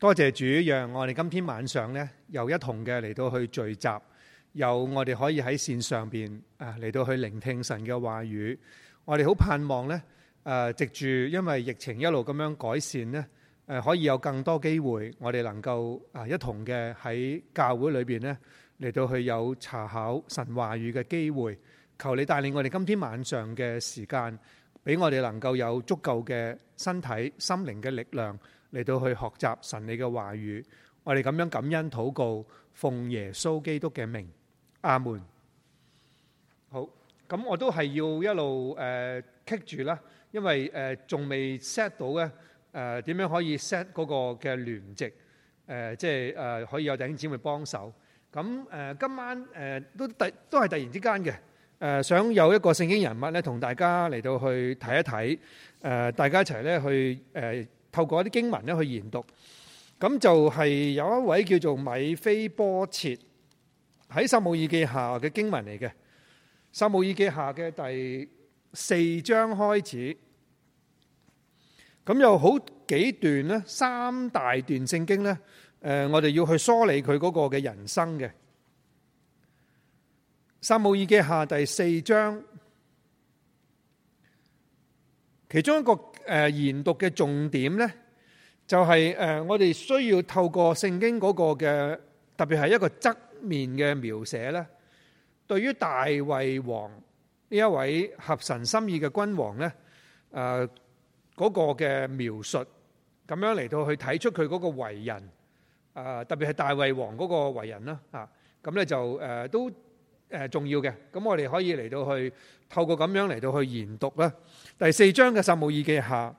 多謝主，讓我哋今天晚上呢又一同嘅嚟到去聚集，有我哋可以喺線上邊嚟到去聆聽神嘅話語。我哋好盼望呢藉住因為疫情一路咁樣改善呢，可以有更多機會，我哋能夠一同嘅喺教會裏邊呢嚟到去有查考神話語嘅機會。求你帶領我哋今天晚上嘅時間，俾我哋能夠有足夠嘅身體、心靈嘅力量嚟到去學習神你嘅話語。我哋咁樣感恩禱告，奉耶穌基督嘅名，阿門。好，咁我都係要一路棘住啦，因為仲未 set 到咧點樣可以 set 嗰個嘅聯席，即係可以有弟兄姊妹幫手。咁今晚都係突然之間嘅，想有一個聖經人物咧同大家嚟到去睇一睇，大家一齊咧去透過一啲經文咧去研讀。咁就係有一位叫做米非波設，喺撒母耳記下嘅經文嚟嘅。撒母耳記下嘅第4章開始，咁有好幾段咧，3大段聖經咧，我哋要去梳理佢嗰個嘅人生嘅。撒母耳記下第4章，其中一個研讀嘅重點咧，就係我哋需要透過聖經嗰個嘅，特別係一個側面嘅描寫咧，對於大衛王呢一位合神心意嘅君王咧，嗰個嘅描述，咁樣嚟到去睇出佢嗰個為人，特別係大衛王嗰個為人啦，咁咧就都重要嘅。咁我哋可以嚟到去透過咁樣嚟到去研讀啦。第4章嘅撒母耳記下，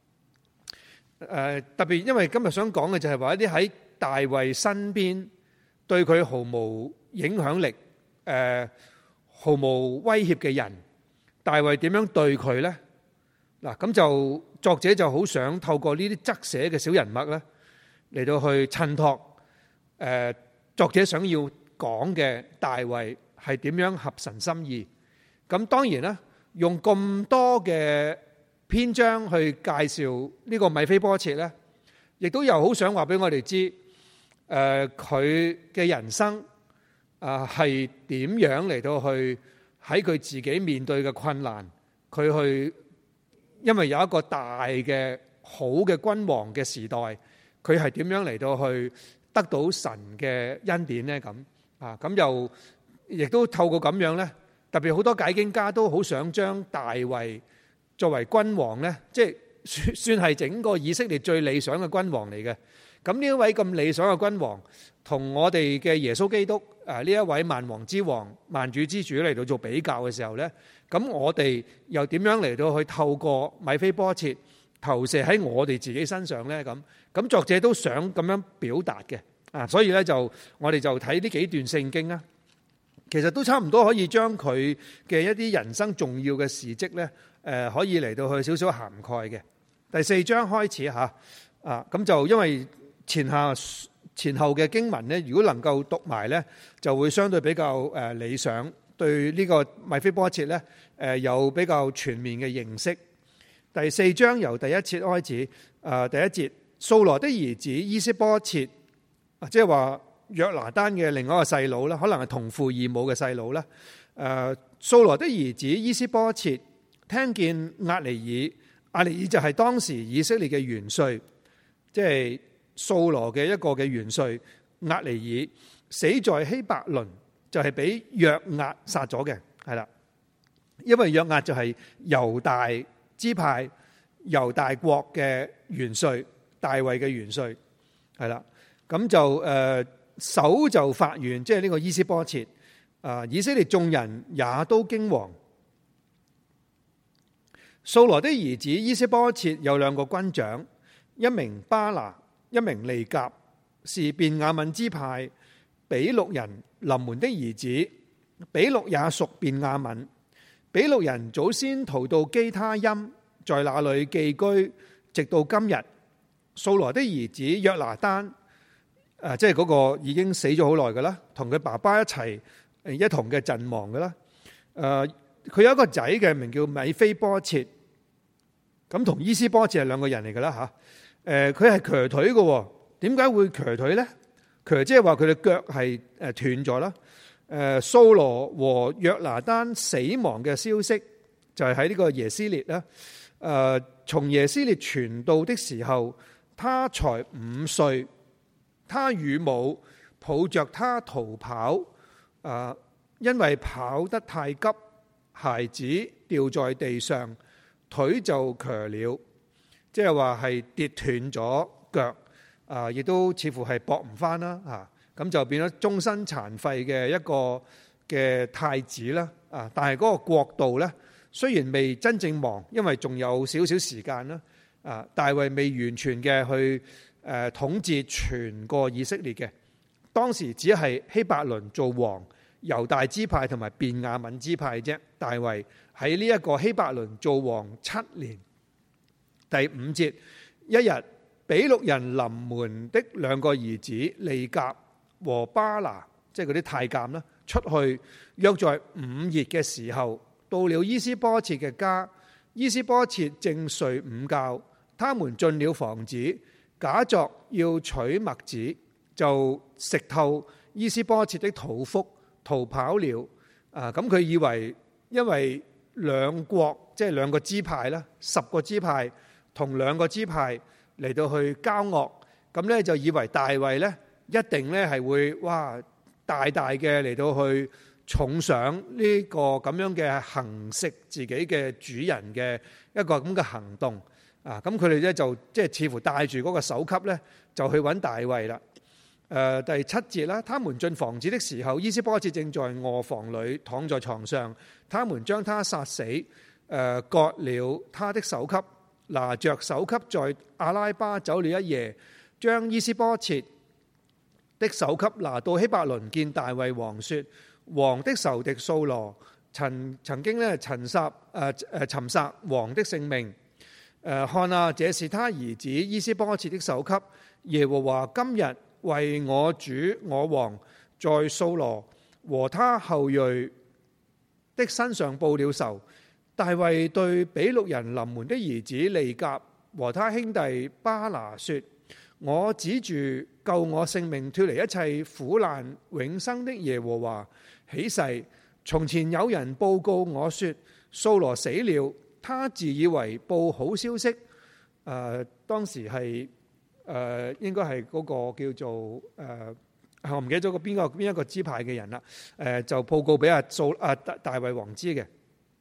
特別因為今日想講嘅就係話一啲喺大衛身邊對佢毫無影響力、毫無威脅嘅人，大衛點樣對佢呢？嗱，咁就作者就好想透過呢啲側寫嘅小人物咧，嚟到去襯托作者想要講嘅大衛係點樣合神心意。咁當然啦，用咁多嘅篇章去介紹呢個米非波設咧，亦都有好想話俾我哋知，佢嘅人生係點樣嚟到去喺佢自己面對嘅困難，佢去因為有一個大嘅好嘅君王嘅時代，佢係點樣嚟到去得到神嘅恩典呢？咁又亦都透過咁樣呢，特別好多解經家都好想將大衛作為君王呢，即係算係整個以色列最理想嘅君王嚟嘅。咁呢一位咁理想嘅君王，同我哋嘅耶穌基督呢一位萬王之王、萬主之主嚟到做比較嘅時候呢，咁我哋又點樣嚟到去透過米非波設投射喺我哋自己身上呢？咁作者都想咁樣表達嘅。所以呢，我哋就睇呢幾段聖經啦。其實都差唔多可以將佢嘅一啲人生重要嘅事蹟呢，可以嚟到去少少涵蓋嘅。第4章開始嚇，咁就因為前後嘅經文呢，如果能夠讀埋呢，就會相對比較理想，對呢個米非波設呢有比較全面嘅認識。第4章由第1節開始，第1節，掃羅的兒子伊施波設，即係話約拿單嘅另外一個細佬啦，可能係同父異母嘅細佬啦。掃羅的兒子伊施波設聽見押尼爾就係當時以色列嘅元帥，即係掃羅嘅一個嘅元帥押尼爾死在希伯倫，就係俾約押殺咗嘅，係啦。因為約押就係猶大支派、猶大國嘅元帥，大衛嘅元帥，係啦。咁就手就發願，即係呢個伊施波設，以色列眾人也都驚惶。掃羅的兒子伊施波設有2個軍長，一名巴拿，一名利甲，是便雅憫支派比錄人臨門的兒子。比錄也屬便雅憫。比錄人祖先逃到基他音，在那裏寄居，直到今日。掃羅的兒子約拿單，即係嗰個已經死咗好耐㗎啦，同佢爸爸一齊一同嘅陣亡㗎啦。佢有一個仔嘅名叫米非波設，咁同伊施波設係2個人嚟㗎啦嚇。佢係瘸腿嘅， 點解會瘸腿咧？瘸即係話佢嘅腳係斷咗啦。掃羅和約拿單死亡嘅消息就係喺呢個耶斯列啦。從耶斯列傳道的時候，他才5歲，他與母抱着他逃跑，因為跑得太急，孩子掉在地上，腿就瘸了，即係話係跌斷咗腳，亦都似乎係駁唔翻啦。咁就變咗終身殘廢嘅一個嘅太子啦。但係嗰個國度呢，雖然未真正亡，因為仲有少少時間啦。大衛未完全嘅去統治全個以色列嘅，當時只係希伯倫做王，猶大支派同埋便雅憫支派啫。大衛喺呢一個希伯倫做王7年。第5節，一日比錄人臨門的2個兒子利甲和巴拿，即係嗰啲太監啦，出去，約在午夜嘅時候，到了伊施波設嘅家。伊施波設正睡午覺，他們進了房子，假作要取麥子，就食透伊施波設的肚腹，逃跑了。咁佢以為因為兩國即係2個支派啦，10個支派同2個支派嚟到去交惡，咁呢就以為大衛呢一定呢係會大大嘅嚟到去重賞呢個咁樣嘅行食自己嘅主人嘅一個咁嘅行動。咁佢哋呢就即係似乎帶住嗰個首級呢就去揾大衛啦。第7節啦，他們進房子的時候，伊施波設正在臥房裏躺在床上，他們將他殺死，割了他的首級，拿着首級在亞拉巴走了一夜，將伊施波設的首級拿到希伯倫見大衛王，說：王的仇敵掃羅曾經咧尋殺王的性命。看啊，這是他兒子伊施波設的首級。耶和華今日為我主我王在掃羅和他後裔的身上報了仇。大衛對比錄人臨門的兒子利甲和他兄弟巴拿說：我指住救我性命脫離一切苦難永生的耶和華起誓，從前有人報告我說掃羅死了，他自以為報好消息。當時係應該係嗰個叫做我唔記得咗個邊一個支派嘅人啦。就報告俾大衛王知嘅。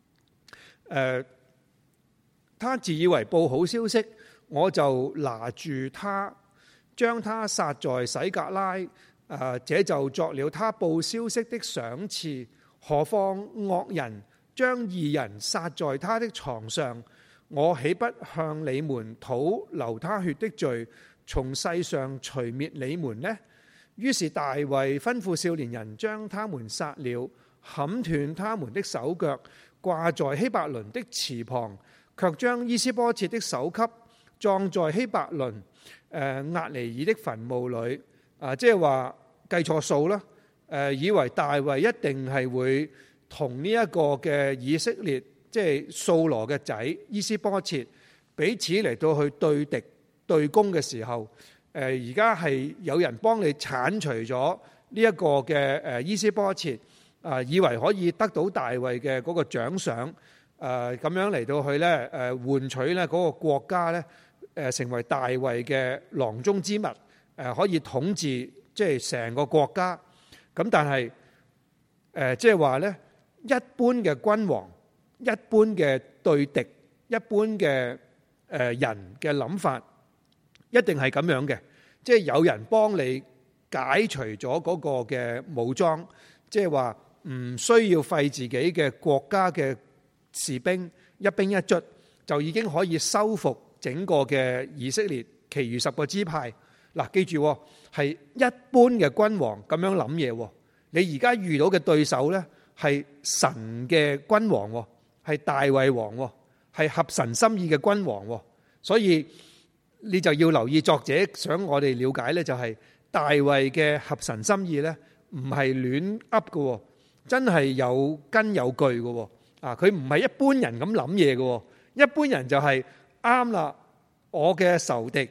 他自以為報好消息，我就拿住他，將他殺在洗革拉。這就作了他報消息的賞賜。何況惡人將義人殺在他的床上，我豈不向你們討流他血的罪，從世上除滅你們呢？於是大衛吩咐少年人將他們殺了，砍斷他們的手腳，掛在希伯倫的池旁，卻將伊施波設的首級葬在希伯倫押尼珥的墳墓裏。即係話計錯數啦。以為大衛一定係會同呢一個嘅以色列，即係掃羅嘅仔伊施波設彼此嚟到去對敵對攻嘅時候，而家係有人幫你剷除咗呢一個嘅伊施波設，以為可以得到大衛嘅嗰個獎賞，咁樣嚟到去咧換取咧嗰個國家咧成為大衛嘅囊中之物，可以統治即係成個國家。咁但係即係話咧，一般嘅君王、一般嘅對敵、一般嘅人嘅諗法，一定係咁樣嘅，即係有人幫你解除咗嗰個嘅武裝，即係話唔需要費自己嘅國家嘅士兵一兵一卒，就已經可以收復整個嘅以色列，其餘10個支派。嗱，記住係一般嘅君王咁樣諗嘢。你而家遇到嘅對手呢，係神嘅君王，係大衛王，係合神心意嘅君王。所以你就要留意作者想我哋了解呢，就係大衛嘅合神心意呢，唔係亂噏嘅，真係有根有據嘅。佢唔係一般人咁諗嘢嘅。一般人就係啱啦，我嘅仇敵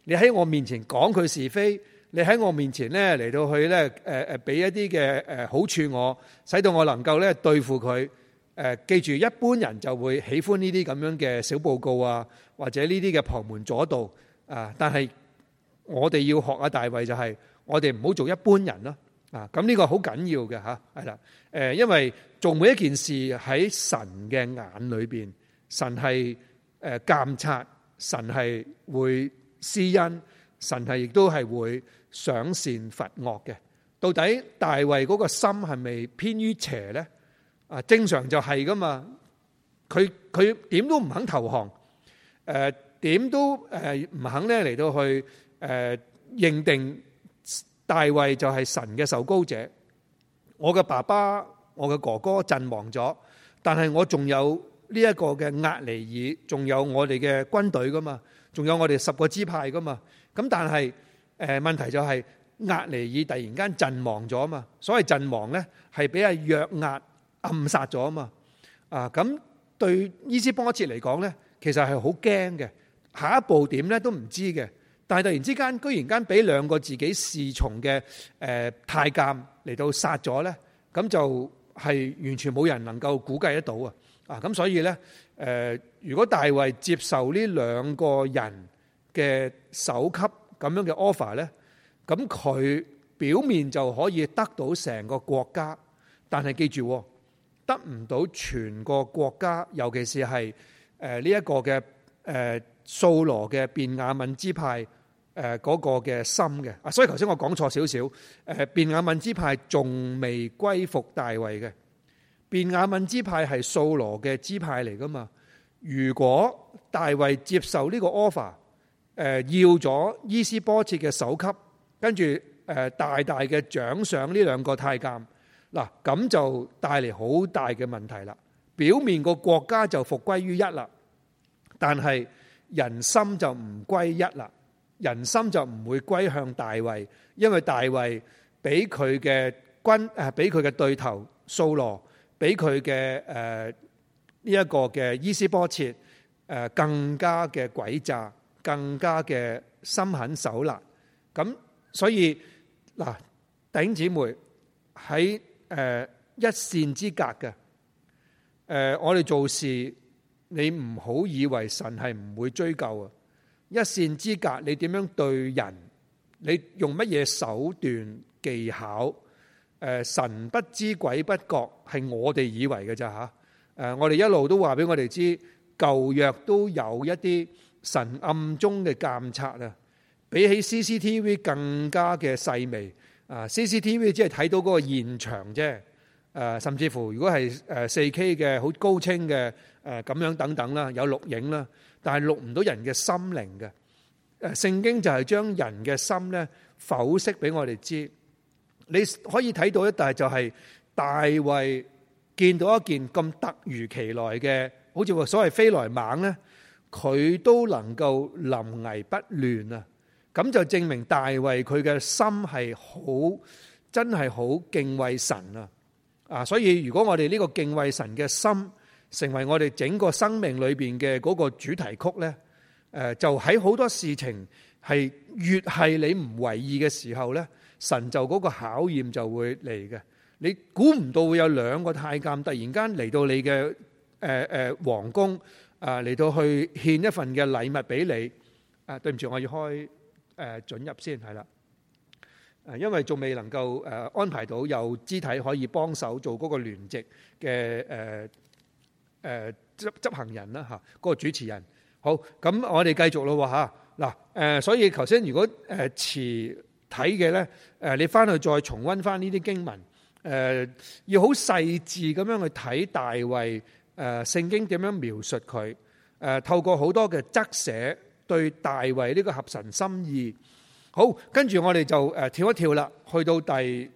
你喺我面前講佢是非，你喺我面前咧嚟到去咧俾一啲嘅好處我，使到我能夠咧對付佢。記住，一般人就會喜歡呢啲咁樣嘅小報告啊，或者呢啲嘅旁門左道啊。但係我哋要學大衛就係，我哋唔好做一般人咯。咁呢個好緊要嘅嚇，係啦。因為做每一件事喺神嘅眼裏邊，神係監察，神係會施恩，神係亦都係會賞善罰惡嘅。到底大衛嗰個心係咪偏於邪呢？正常就係噶嘛，佢點都唔肯投降，點都唔肯咧嚟到去認定大衛就係神嘅受膏者。我嘅爸爸、我嘅哥哥陣亡咗，但係我仲有呢一個嘅押尼珥，仲有我哋嘅軍隊噶嘛，仲有我哋10個支派噶嘛。咁但係問題就係押尼珥突然間陣亡咗嘛，所謂陣亡咧係俾阿約押暗殺咗啊嘛。咁對伊施波設嚟講咧，其實係好驚嘅，下一步點咧都唔知嘅。但係突然之間，居然間俾2個自己侍從嘅太監嚟到殺咗咧，咁就係完全冇人能夠估計得到啊！咁所以咧，如果大衛接受呢2個人嘅首級咁樣嘅 offer 咧，咁佢表面就可以得到成個國家，但係記住，得唔到全個國家，尤其是係呢一個嘅掃羅嘅便雅憫支派嗰個嘅心嘅。所以頭先我講錯少少，便雅憫支派仲未歸服大衛嘅，便雅憫支派係掃羅嘅支派嚟噶嘛。如果大衛接受呢個 offer，要咗伊施波設嘅首級，跟住大大嘅獎賞呢2個太監，嗱，咁就帶嚟好大嘅問題啦。表面個國家就復歸於一啦，但係人心就唔歸一啦，人心就唔會歸向大衛，因為大衛俾佢嘅俾佢嘅對頭掃羅，俾佢嘅呢一個嘅伊施波設更加嘅詭詐，更加嘅心狠手辣。咁所以嗱，弟兄姊妹喺一線之隔嘅，我哋做事你唔好以為神係唔會追究啊！一線之隔，你點樣對人？你用乜嘢手段技巧？神不知鬼不覺，係我哋以為嘅咋吓？我哋一路都話俾我哋知，舊約都有一啲神暗中嘅監察啊，比起 CCTV 更加嘅細微。CCTV 只係睇到嗰個現場啫，甚至乎如果係4K 嘅好高清嘅咁樣等等啦，有錄影啦，但係錄唔到人嘅心靈嘅。聖經就係將人嘅心咧剖析俾我哋知，你可以睇到一，但係就係大衛見到一件咁突如其來嘅，好似話所謂飛來猛咧，佢都能夠臨危不亂啊！咁就證明大衛佢嘅心係好，真係好敬畏神啊！所以如果我哋呢個敬畏神嘅心成為我哋整個生命裏邊嘅嗰個主題曲咧，就喺好多事情係越係你唔為意嘅時候咧，神就嗰個考驗就會嚟嘅。你估唔到會有2個太監突然間嚟到你嘅皇宮嚟到去獻一份嘅禮物俾你。對唔住，我要開准入先係啦，因為仲未能夠安排到有肢體可以幫手做嗰個聯席嘅執行人啦嚇，嗰個主持人。好，咁我哋繼續咯嚇嗱，所以頭先如果遲睇嘅咧，你翻去再重溫翻呢啲經文，要好細緻咁樣去睇大衛聖經點樣描述佢，透過好多嘅側寫。對大衛呢個合神心意。好，跟住我哋就跳一跳啦，去到第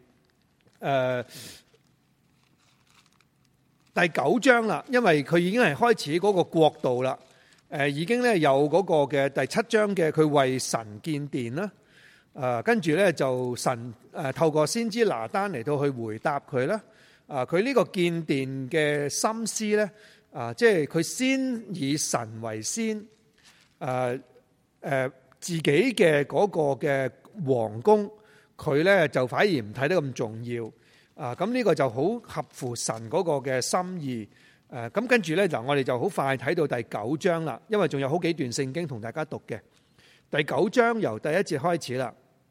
9章啦，因為佢已經係開始嗰個國度啦，已經咧有嗰個嘅第7章嘅佢為神建殿啦，跟住咧就神透過先知拿單嚟到去回答佢啦，佢呢個建殿嘅心思咧，即係佢先以神為先。 自己嘅嗰個嘅皇宮，佢咧就反而唔睇得咁重要啊！咁呢個就好合乎神嗰個嘅心意。咁跟住咧嗱，我哋就好快睇到第9章啦，因為仲有好幾段聖經同大家讀嘅。第9章由第1節開始啦。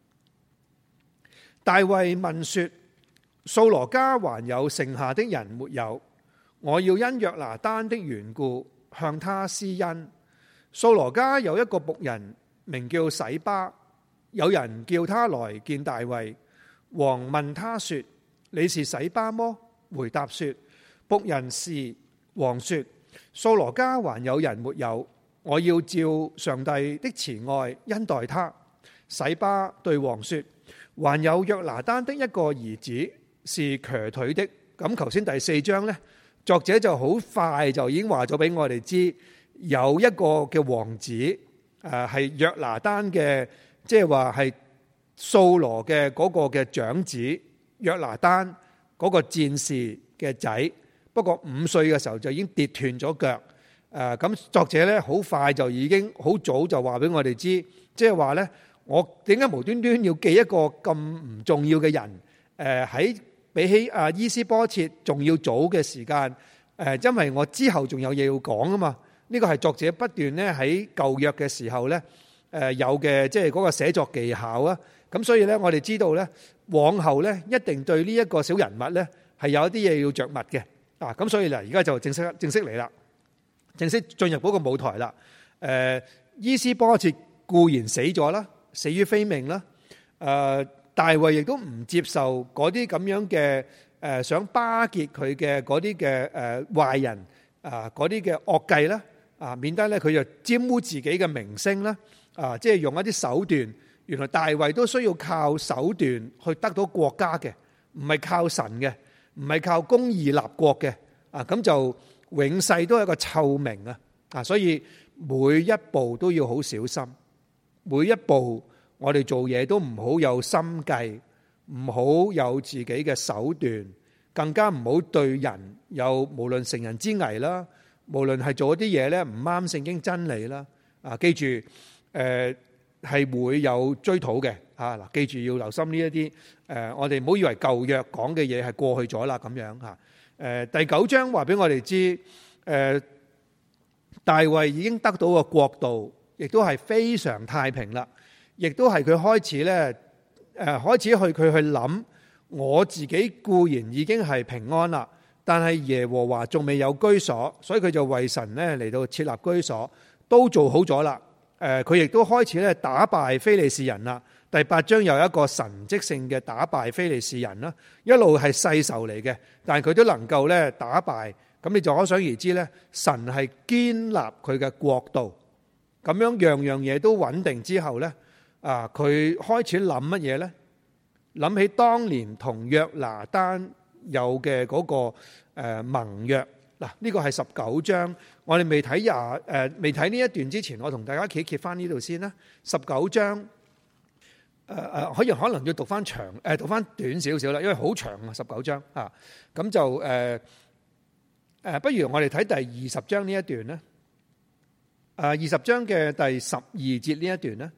大衛問說：掃羅家還有剩下的人沒有？我要因約拿單的緣故向他施恩。掃羅家有一個僕人名叫洗巴，有人叫他來見大衛。王問他說：你是洗巴麼？回答說：僕人是。王說：掃羅家還有人沒有？我要照上帝的慈愛恩待他。洗巴對王說：還有約拿單的一個兒子是瘸腿的。咁頭先第4章呢，作者就好快就已經話咗俾我哋知，有一個嘅王子係約拿單嘅，即係話係掃羅嘅嗰個嘅長子約拿單嗰個戰士嘅仔。不過5歲嘅時候就已經跌斷咗腳。咁作者咧好快就已經好早就話俾我哋知，即係話咧，我點解無端端要記一個咁唔重要嘅人？喺比起伊施波設仲要早嘅時間，因為我之後仲有嘢要講啊嘛。呢個係作者不斷咧喺舊約嘅時候咧有嘅，即係嗰個寫作技巧啊。咁所以咧，我哋知道咧，往後咧一定對呢一個小人物咧係有一啲嘢要着墨嘅。咁所以嗱，而家就正式嚟啦，正式進入嗰個舞台啦。伊施波設固然死咗啦，死於非命啦。大衛亦都唔接受嗰啲咁樣嘅想巴結佢嘅嗰啲嘅壞人嗰啲嘅惡計啦，免得咧佢就沾污自己嘅名聲啦。即係用一啲手段，原來大衛都需要靠手段去得到國家嘅，唔係靠神嘅。唔係靠公義立國嘅，咁就永世都係一個臭名啊！所以每一步都要好小心，每一步我哋做嘢都唔好有心計，唔好有自己嘅手段，更加唔好對人有無論成人之危啦，無論係做一啲嘢咧唔啱聖經真理啦。記住係會有追討嘅。嗱，記住要留心呢一啲我哋唔好以為舊約講嘅嘢係過去咗啦咁樣嚇。第9章話俾我哋知，大衛已經得到個國度，亦都係非常太平啦，亦都係佢開始咧開始佢去諗，我自己固然已經係平安啦，但係耶和華仲未有居所，所以佢就為神咧嚟到設立居所，都做好咗啦。佢亦都開始咧打敗非利士人啦。第8章有一個神蹟性嘅打敗非利士人啦，一路係世仇嚟嘅，但係佢都能夠咧打敗，咁你就可想而知咧，神係堅立佢嘅國度，咁樣樣樣嘢都穩定之後咧，佢開始諗乜嘢咧？諗起當年同約拿單有嘅嗰個盟約。嗱，呢個係19章，我哋未睇呢一段之前，我同大家揭翻呢度先啦。19章。可能要讀翻長，讀翻短少少啦，因為好長啊，19章啊，咁就不如我哋睇第20章呢一段咧。20章嘅第12節呢一段咧，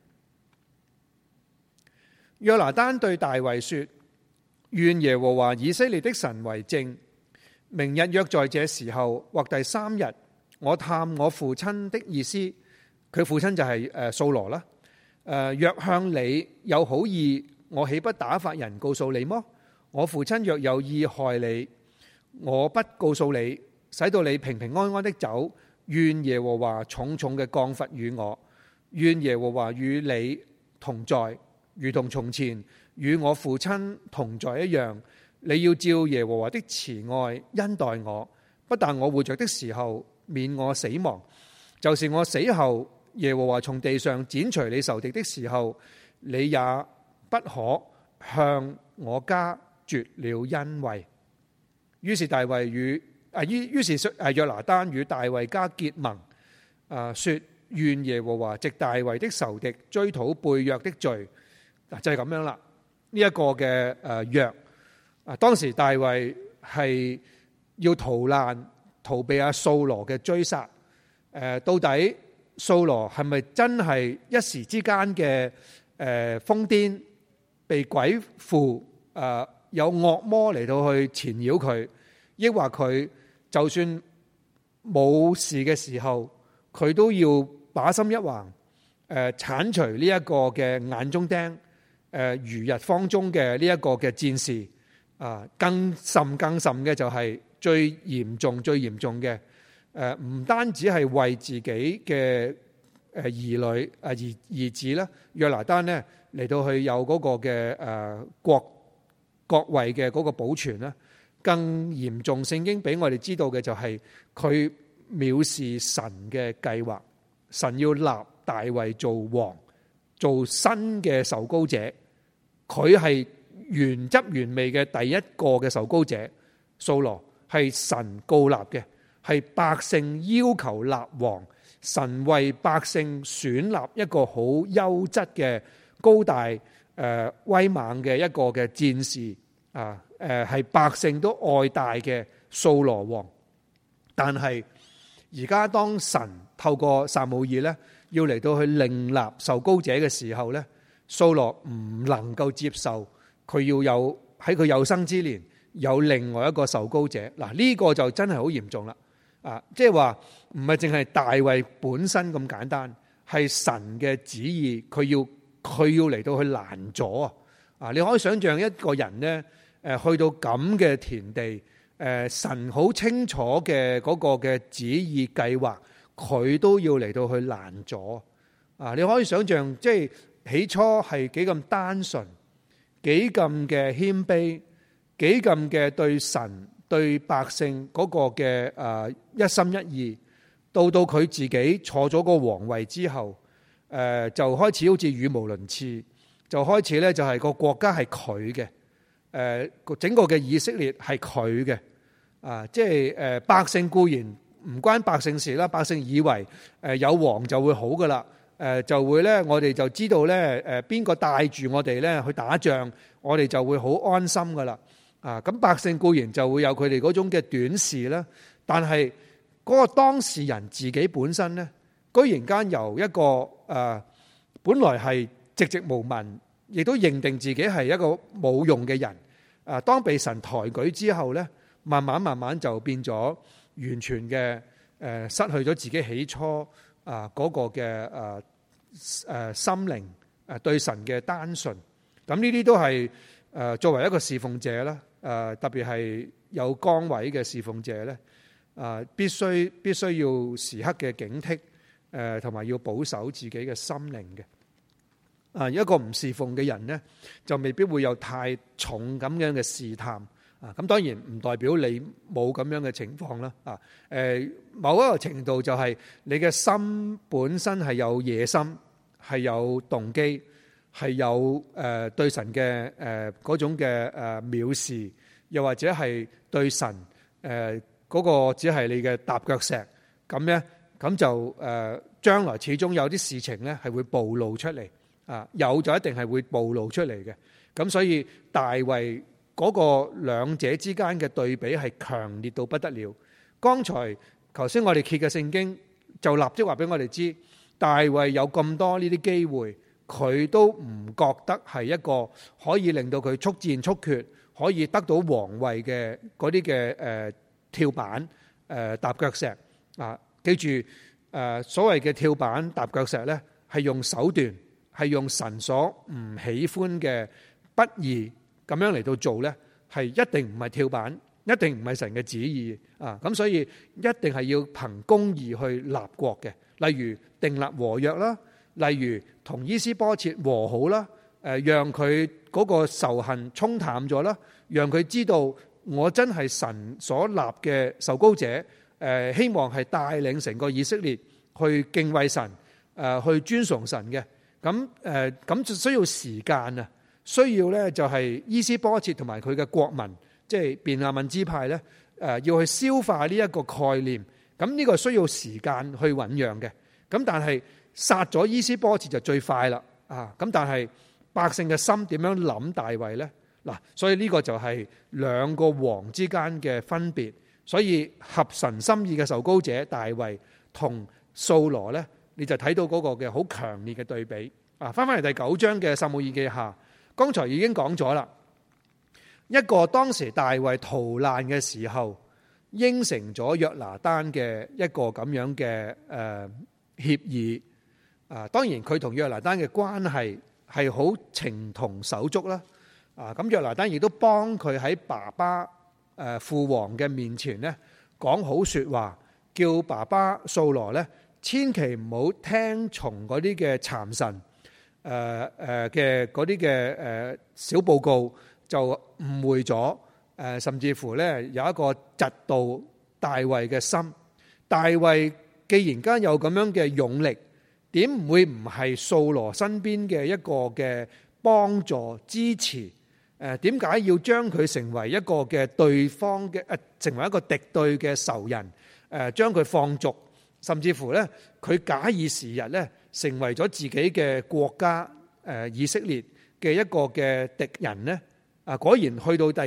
約拿單對大衛說：願耶和華以色列的神為證，明日約在這時候或第3日，我探我父親的意思，佢父親就係掃羅啦。若向你有好意，我豈不打發人告訴你麼？我父親若有意害你，我不告訴你，使到你平平安安的走。願耶和華重重嘅降罰與我，願耶和華與你同在，如同從前與我父親同在一樣。你要照耶和華的慈愛恩待我，不但我活着的時候免我死亡，就是我死後耶和華從地上剪除你仇敵的時候，你也不可向我家絕了恩惠。於是約拿單與大衛家結盟，說願耶和華藉大衛的仇敵追討背約的罪。就係咁樣啦。呢一個嘅約，當時大衛係要逃難，逃避掃羅嘅追殺。到底掃羅係咪真係一時之間嘅瘋癲，被鬼附，有惡魔嚟到去纏繞佢，抑或佢就算冇事嘅時候，佢都要把心一橫，剷除呢一個嘅眼中釘，如日方中嘅呢一個嘅戰士，更甚嘅就係最嚴重嘅，唔單止係為自己嘅兒女兒子啦，約拿單呢嚟到去有嗰個嘅國位嘅嗰個保存啦，更嚴重。聖經俾我哋知道嘅就係佢藐視神嘅計劃，神要立大衛做王，做新嘅受膏者，佢係原汁原味嘅第一個嘅受膏者。掃羅係神膏立嘅，係百姓要求立王，神為百姓選立一個好優質嘅高大威猛嘅一個嘅戰士，係百姓都愛戴嘅掃羅王。但係而家當神透過撒母耳咧，要嚟到去另立受膏者嘅時候咧，掃羅唔能夠接受佢要有喺佢有生之年有另外一個受膏者。嗱，呢個就真係好嚴重啦。即係話唔係淨係大衛本身咁簡單，係神嘅旨意，佢要嚟到去攔阻啊！你可以想象一個人呢，去到咁嘅田地，神好清楚嘅嗰個嘅旨意計劃，佢都要嚟到去攔阻啊！你可以想象，即係起初係幾咁單純，幾咁嘅謙卑，幾咁嘅對神對百姓嗰個嘅一心一意，到佢自己坐咗個皇位之後，就開始好似語無倫次，就開始咧就係個國家係佢嘅，整個嘅以色列係佢嘅，即係百姓固然唔關百姓事啦，百姓以為有王就會好噶啦，就會咧我哋就知道咧邊個帶住我哋咧去打仗，我哋就會好安心噶啦。咁百姓固然就會有佢哋嗰種嘅短視啦，但係嗰個當事人自己本身咧，居然間由一個本來係寂寂無聞，亦都認定自己係一個冇用嘅人，當被神抬舉之後咧，慢慢就變咗完全嘅失去咗自己起初嗰個嘅心靈對神嘅單純。咁呢啲都係作為一個侍奉者啦。特別係有崗位嘅侍奉者咧，必須要時刻嘅警惕，同埋要保守自己嘅心靈嘅。一個唔侍奉嘅人咧，就未必會有太重咁樣嘅試探。咁當然唔代表你冇咁樣嘅情況啦。某一個程度就係你嘅心本身係有野心，係有動機。係有對神嘅嗰種嘅藐視，又或者係對神嗰個只係你嘅踏腳石咁咧，咁就將來始終有啲事情咧係會暴露出嚟，有就一定係會暴露出嚟嘅。咁所以大衛嗰個兩者之間嘅對比係強烈到不得了。剛才頭先我哋揭嘅聖經就立即話俾我哋知，大衛有咁多呢啲機會。佢都唔覺得係一個可以令到佢速戰速決，可以得到皇位嘅嗰啲嘅跳板踏腳石啊！記住所謂嘅跳板踏腳石呢，係用手段，係用神所唔喜歡嘅不義咁樣嚟到做呢，係一定唔係跳板，一定唔係神嘅旨意啊！咁所以一定係要憑公義去立國嘅，例如訂立和約啦。例如同伊施波設和好啦，讓佢嗰個仇恨沖淡咗啦，讓佢知道我真係神所立嘅受膏者，希望係帶領成個以色列去敬畏神，去尊崇神嘅。咁就需要時間啊，需要咧就係伊施波設同埋佢嘅國民，即係便雅憫支派咧，要去消化呢一個概念。咁呢個需要時間去醞釀嘅。咁但係殺咗伊施波設就最快啦，咁但係百姓嘅心點樣諗大衛呢？嗱，所以呢個就係兩個王之間嘅分別。所以合神心意嘅受膏者大衛同掃羅呢， 你就睇到嗰個嘅好強烈嘅對比。翻嚟第9章嘅撒母耳記下，剛才已經講咗啦，一個當時大衛逃難嘅時候應承咗約拿單嘅一個咁樣嘅協議。當然佢同約拿單嘅關係係好情同手足啦。咁約拿單亦都幫佢喺爸爸父王嘅面前咧講好說話，叫爸爸掃羅咧千祈唔好聽從嗰啲嘅讒臣嘅嗰啲嘅小報告，就誤會咗甚至乎咧有一個嫉妒大衛嘅心。大衛既然間有咁樣嘅勇力，點唔會唔係掃羅身邊嘅一個嘅幫助支持？點解要將佢成為一個嘅對方嘅成為一個敵對嘅仇人？將佢放逐，甚至乎咧佢假以時日咧成為咗自己嘅國家以色列嘅一個嘅敵人咧。果然去到第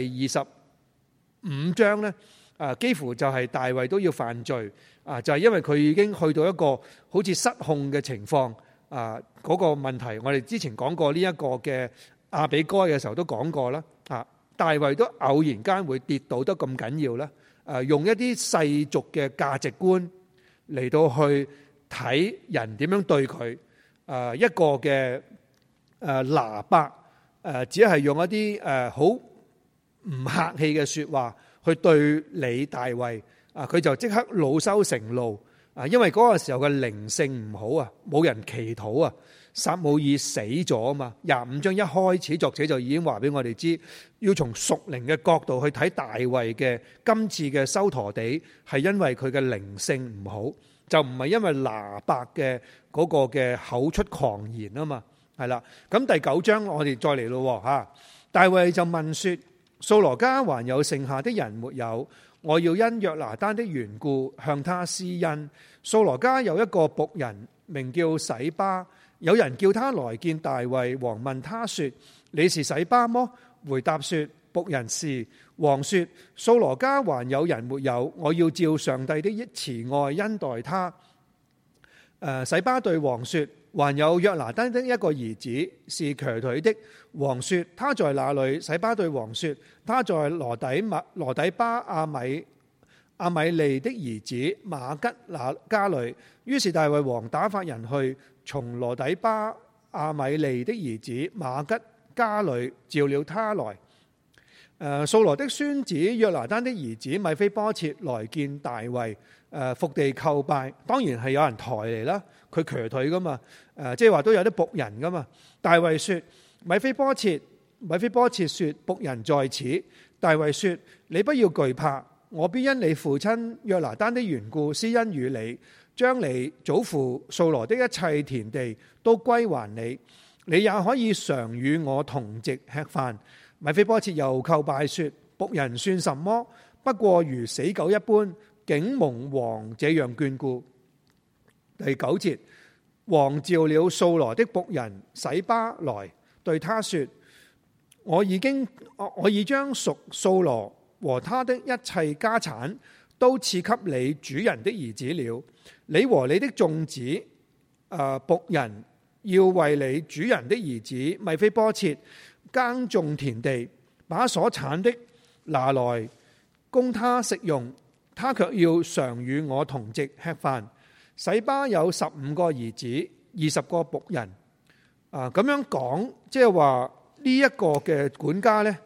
25章咧，幾乎就係大衛都要犯罪。就係因為佢已經去到一個好似失控嘅情況。嗰個問題我哋之前講過呢一個嘅亞比該嘅時候都講過啦。大衛都偶然間會跌倒得咁緊要啦。用一啲世俗嘅價值觀嚟到去睇人點樣對佢。一個嘅拿伯只係用一啲好唔客氣嘅說話去對你大衛。佢就即刻惱羞成怒。因為嗰個時候嘅靈性唔好啊，冇人祈禱啊。撒母耳死咗啊嘛。25章一開始作者就已經話俾我哋知，要從屬靈嘅角度去睇大衛嘅今次嘅收陀地，係因為佢嘅靈性唔好，就唔係因為拿伯嘅嗰個嘅口出狂言啊嘛。係啦，咁第9章我哋再嚟咯吓。大衛就問說：掃羅家還有剩下的人沒有？我要因約拿單的緣故向他施恩。掃羅家有一個僕人名叫洗巴，有人叫他來見大衛王，問他說：你是洗巴麼？回答說：僕人是。王說：掃羅家還有人沒有？我要照上帝的慈愛恩待他。洗巴對王說：還有約拿單的一個兒子是瘸腿的。王說：他在哪裏？洗巴對王說：他在羅底巴亞米利的兒子馬吉那家裏。於是大衛王打發人去，從羅底巴亞米利的兒子馬吉家裏召了他來。掃羅的孫子約拿單的兒子米非波設來見大衛，伏地叩拜。當然係有人抬嚟啦，佢瘸腿噶嘛，即係話都有啲僕人噶嘛。大衛說：米非波設說：僕人在此。大衛說：你不要懼怕，我必因你父親約拿單的緣故施恩與你，將你祖父掃羅的一切田地都歸還你，你也可以常與我同席吃飯。米非波設又叩拜說：僕人算什麼？不過如死狗一般，竟蒙王這樣眷顧。第9節，王召了掃羅的僕人洗巴來，對他說：我已將屬掃羅和他的一切家產都賜給你主人的兒子了。你和你的眾子僕人要為你主人的兒子米非波設耕種田地，把所產的拿來供他食用，他卻要常與我同席吃飯。洗巴有15個兒子，20個僕人。咁樣講，即係話呢一個嘅管家呢，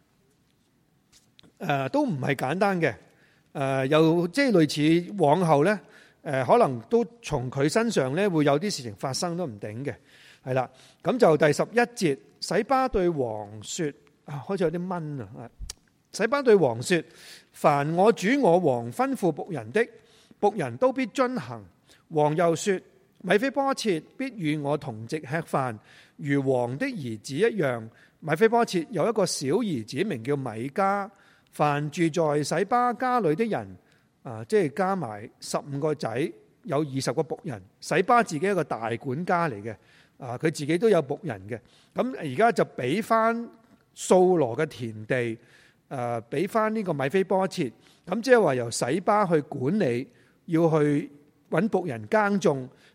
都唔係簡單嘅。又即係類似往後呢，可能都從佢身上呢會有啲事情發生都唔定嘅。係啦，咁就第11節，洗巴對王說：開始有啲蚊啊！洗巴對王說：凡我主我王吩咐僕人的，僕人都必遵行。王又說：米非波設必與我同席吃飯，如王的兒子一樣。米非波設有一個小兒子，名叫米迦。凡住在洗巴家裏的人，即係加埋15個仔，有20個僕人。洗巴自己一個大管家嚟嘅。佢自己都有僕人嘅，咁而家就俾翻掃羅嘅田地，俾翻呢個米非波設，咁即係話由洗巴去管理，要去揾僕人耕種，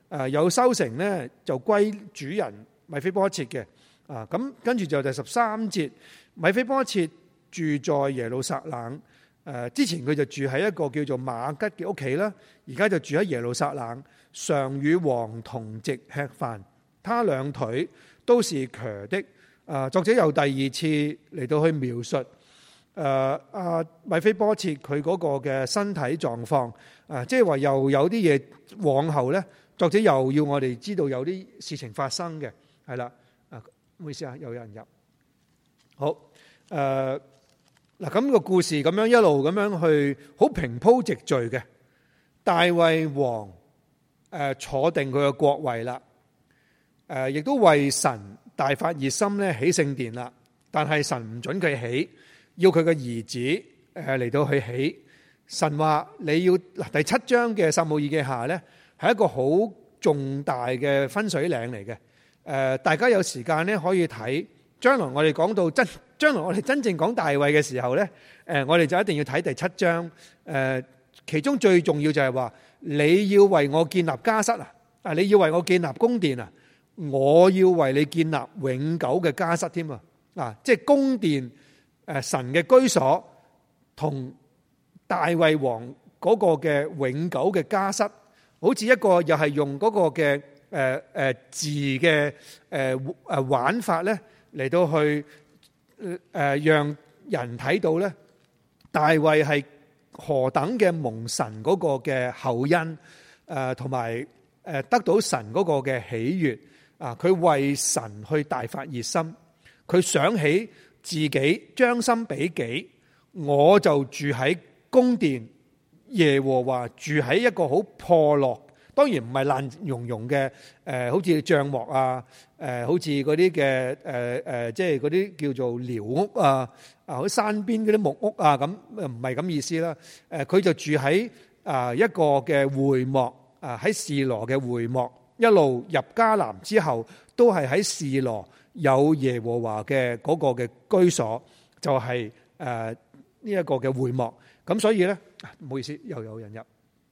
有收成咧就歸主人米非波設嘅。咁跟住就第13節，米非波設住在耶路撒冷。之前佢就住喺一個叫做馬吉嘅屋企啦，而家就住喺耶路撒冷，常與王同席吃飯。他兩腿都是瘸的。作者又第二次嚟到去描述米非波設佢嗰個嘅身體狀況。即係話又有啲嘢往後咧，作者又要我哋知道有啲事情發生嘅，係啦。唔好意思啊，又有人入。好，嗱咁個故事咁樣一路咁樣去，好平鋪直敘嘅。大衛王坐定佢嘅國位啦，亦都為神大發熱心咧起聖殿啦。但係神唔准佢起，要佢嘅兒子嚟到去起。神話你要嗱，第7章嘅撒母耳記下咧，係一個好重大嘅分水嶺嚟嘅。大家有時間咧可以睇。將來我哋講到將來我哋真正講大衛嘅時候咧，我哋就一定要睇第7章。其中最重要就係話，你要為我建立家室啊！你要為我建立宮殿啊！我要為你建立永久嘅家室添啊！即係宮殿神嘅居所，同大衛王嗰個嘅永久嘅家室，好似一個又係用嗰個嘅字嘅玩法咧。嚟到去讓人睇到咧，大衛係何等嘅蒙神嗰個嘅厚恩，同埋得到神嗰個嘅喜悅啊！佢為神去大發熱心，佢想起自己將心比己，我就住喺宮殿，耶和華住喺一個好破落。當然唔係爛溶溶嘅，好似帳幕啊，好似嗰啲嘅即係嗰啲叫做寮屋啊，好似山邊嗰啲木屋啊，咁唔係咁意思啦。佢就住喺一個嘅會幕喺示羅嘅會幕，一路入迦南之後，都係喺示羅有耶和華嘅嗰個嘅居所，就係呢一個嘅會幕。咁所以咧，唔好意思，又有人入。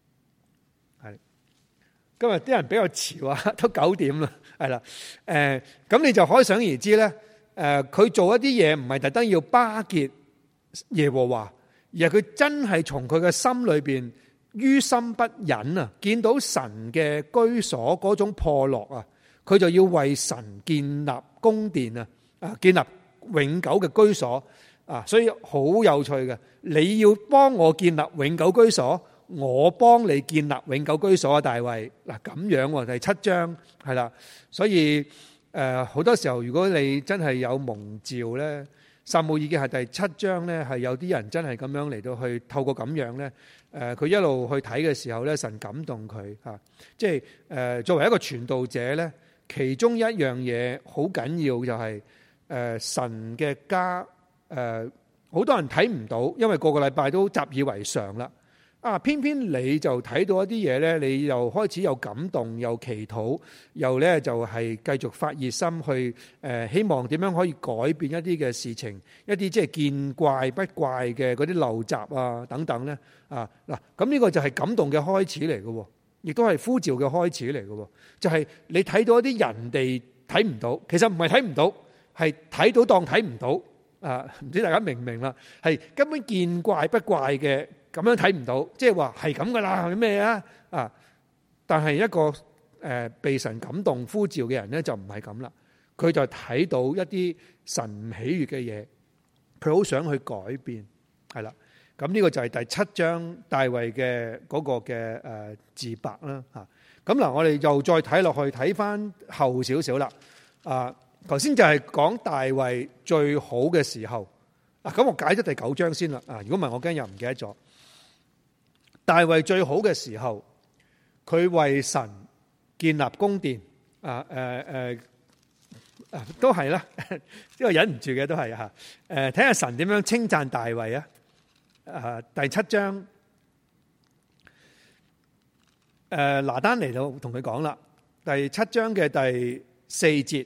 今日啲人比較潮啊，都9點啦，係啦，咁你就可想而知咧，佢做一啲嘢唔係特登要巴結耶和華，而係佢真係從佢嘅心裏邊於心不忍啊，見到神嘅居所嗰種破落啊，佢就要為神建立宮殿啊，建立永久嘅居所啊，所以好有趣嘅，你要幫我建立永久居所。我幫你建立永久居所啊，大衛嗱咁樣第7章係啦，所以好多時候如果你真係有蒙召咧，撒母耳記係第7章咧，係有啲人真係咁樣嚟到去透過咁樣咧，佢一路去睇嘅時候咧，神感動佢嚇，即係作為一個傳道者咧，其中一樣嘢好緊要就係神嘅家，好多人睇唔到，因為個個禮拜都習以為常啦。偏偏你就睇到一啲嘢咧，你又開始有感動，又祈禱，又咧就係繼續發熱心去希望點樣可以改變一啲嘅事情，一啲即係見怪不怪嘅嗰啲陋習啊等等咧嗱，咁呢個就係感動嘅開始嚟嘅，亦都係呼召嘅開始嚟嘅，就係你睇到一啲人哋睇唔到，其實唔係睇唔到，係睇到當睇唔到唔知大家明唔明啦？係根本見怪不怪嘅。咁樣睇唔到，即係話係咁噶啦，係咩啊？但係一個被神感動呼召嘅人咧，就唔係咁啦。佢就睇到一啲神唔喜悅嘅嘢，佢好想去改變，係啦。咁呢個就係第7章大衛嘅嗰個嘅自白啦嚇。咁嗱，我哋又再睇落去，睇翻後少少啦。頭先就係講大衛最好嘅時候。咁我解咗第9章先啦。如果唔係，我驚又唔記得咗。大衛最好嘅時候，佢為神建立宮殿，都係啦，呢個忍唔住嘅都係吓。睇下神點樣稱讚大衛啊？第7章，拿單嚟到同佢講啦，第7章嘅第4節，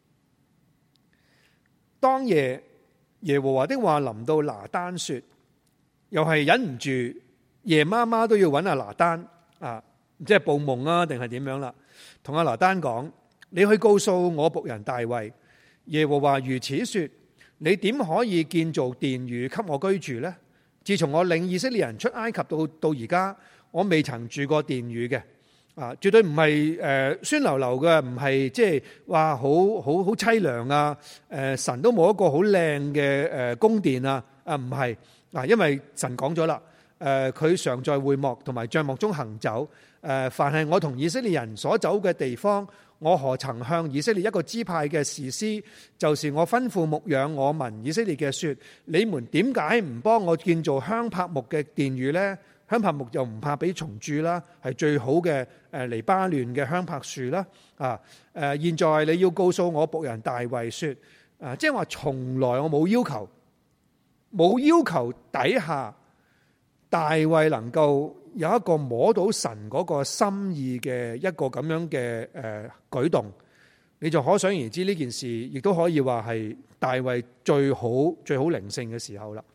當夜耶和華的話臨到拿單說，又係忍唔住。夜媽媽都要揾阿拿單唔知係報夢啊定係點樣啦。同阿拿單講：你去告訴我僕人大衛，耶和華如此說：你點可以建造殿宇給我居住呢？自從我領以色列人出埃及到而家，我未曾住過殿宇嘅。絕對唔係酸溜溜嘅，唔係即係話好凄涼啊！神都冇一個好靚嘅宮殿啊！唔係因為神講咗啦，佢常在會幕同埋帳幕中行走。凡係我同以色列人所走嘅地方，我何曾向以色列一個支派嘅士師，就是我吩咐牧養我民以色列嘅說：你們點解唔幫我建造香柏木嘅殿宇呢？香柏木又唔怕俾蟲蛀啦，係最好嘅黎巴嫩嘅香柏樹啦。現在你要告訴我僕人大衛說，即係話從來我冇要求底下大衛能夠有一個摸到神嗰個心意嘅一個咁樣嘅舉動，你就可想而知呢件事亦都可以話係大衛最好靈性嘅時候啦。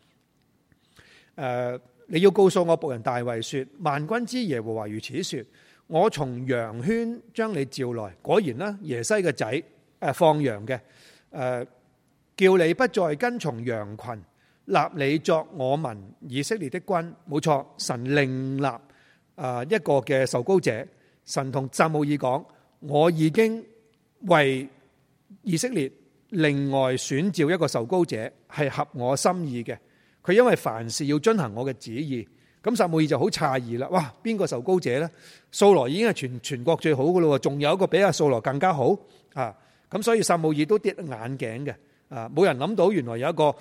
你要告訴我僕人大衛說，萬軍之耶和華如此說：我從羊圈將你召來。果然啦，耶西嘅仔放羊嘅，叫你不再跟從羊群，立你作我民以色列的君。冇錯，神另立一個嘅受膏者。神同撒母耳講：我已經為以色列另外選召一個受膏者，係合我心意嘅。佢因為凡事要遵行我嘅旨意，咁撒母耳就好詫異啦。哇，邊個受膏者呢？掃羅已經係全國最好噶咯，仲有一個比阿掃羅更加好啊！咁所以撒母耳都跌眼鏡嘅啊！冇人諗到原來有一個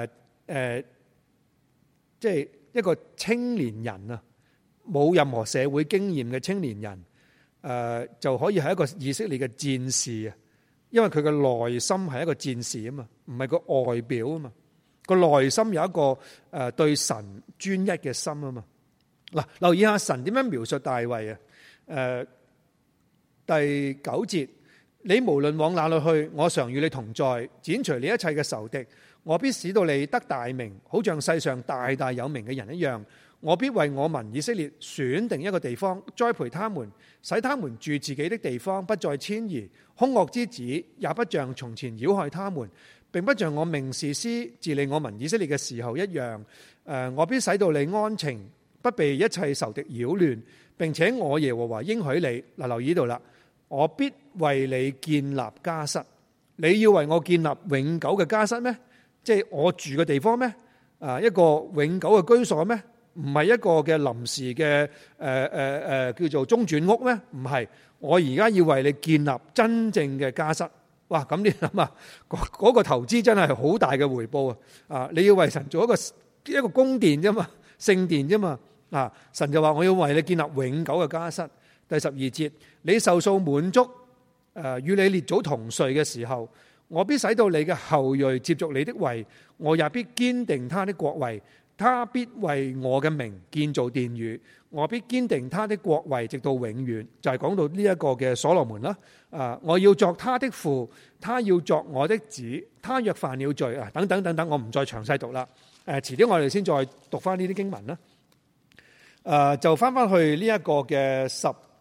即係一個青年人啊，冇任何社會經驗嘅青年人，就可以係一個以色列嘅戰士啊！因為佢嘅內心係一個戰士啊嘛，唔係個外表啊嘛。個內心有一個對神專一嘅心啊嘛。嗱，留意下神點樣描述大衛啊？第9節，你無論往哪裏去，我常與你同在，剪除你一切嘅仇敵，我必使到你得大名，好像世上大大有名嘅人一樣。我必為我民以色列選定一個地方，栽培他們，使他們住自己的地方，不再遷移。兇惡之子也不像從前擾害他們，並不像我命士師治理我民以色列嘅時候一樣。我必使到你安靜，不被一切仇敵擾亂，並且我耶和華應許你。嗱，留意到啦，我必為你建立家室。你要為我建立永久嘅家室咩？即係我住嘅地方咩？一個永久嘅居所咩？唔係一個嘅臨時嘅叫做中轉屋咩？唔係，我而家要為你建立真正嘅家室。哇！咁你諗下，嗰個投資真係好大嘅回報啊！你要為神做一個宮殿啫嘛，聖殿啫嘛。神就話我要為你建立永久嘅家室。第12節，你壽數滿足，與你列祖同睡嘅時候，我必使到你嘅後裔接續你的位，我也必堅定他的國位。他必為我嘅名建造殿宇，我必堅定他的國位直到永遠。就係講到呢一個嘅所羅門啦。我要作他的父，他要作我的子。他若犯了罪啊，等等等等，我唔再詳細讀啦。遲啲我哋先再讀翻呢啲經文啦。就翻翻去呢一個嘅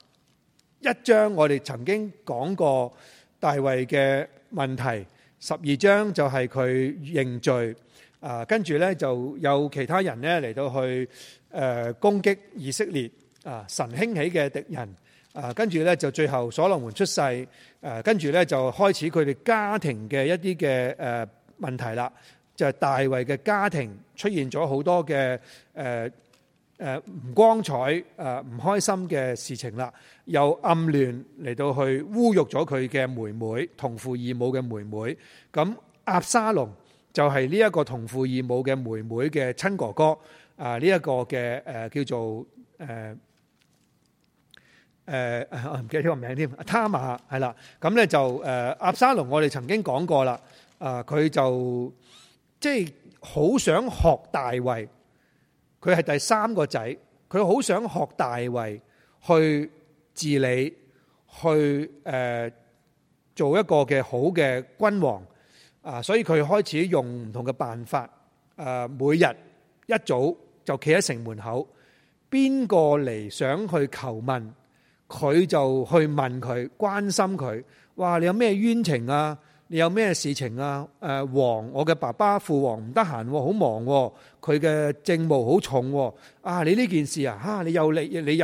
11章，我哋曾經講過大衛嘅問題。12章就係佢認罪。跟住咧就有其他人咧嚟到去攻擊以色列神興起嘅敵人。跟住咧就最後所羅門出世。跟住咧就開始佢哋家庭嘅一啲嘅問題啦。就係大衛嘅家庭出現咗好多嘅唔光彩唔開心嘅事情啦。又暗亂嚟到去侮辱咗佢嘅妹妹，同父異母嘅妹妹。咁押沙龍就係呢一個同父異母嘅妹妹嘅親哥哥。呢一個嘅叫做我唔記得呢個名添。他瑪係啦。咁咧就押沙龍，我哋曾經講過啦。佢就即係好想學大衛。佢係第3個仔，佢好想學大衛去治理，去做一個嘅好嘅君王。所以佢開始用唔同嘅辦法。每日一早就企喺城門口，邊個嚟想去求問， 佢就去問佢，關心佢，哇！你有咩冤情啊？你有咩事情啊？王，我嘅爸爸父王唔得閒，好忙，佢嘅政務好重。你呢件事啊，你有理你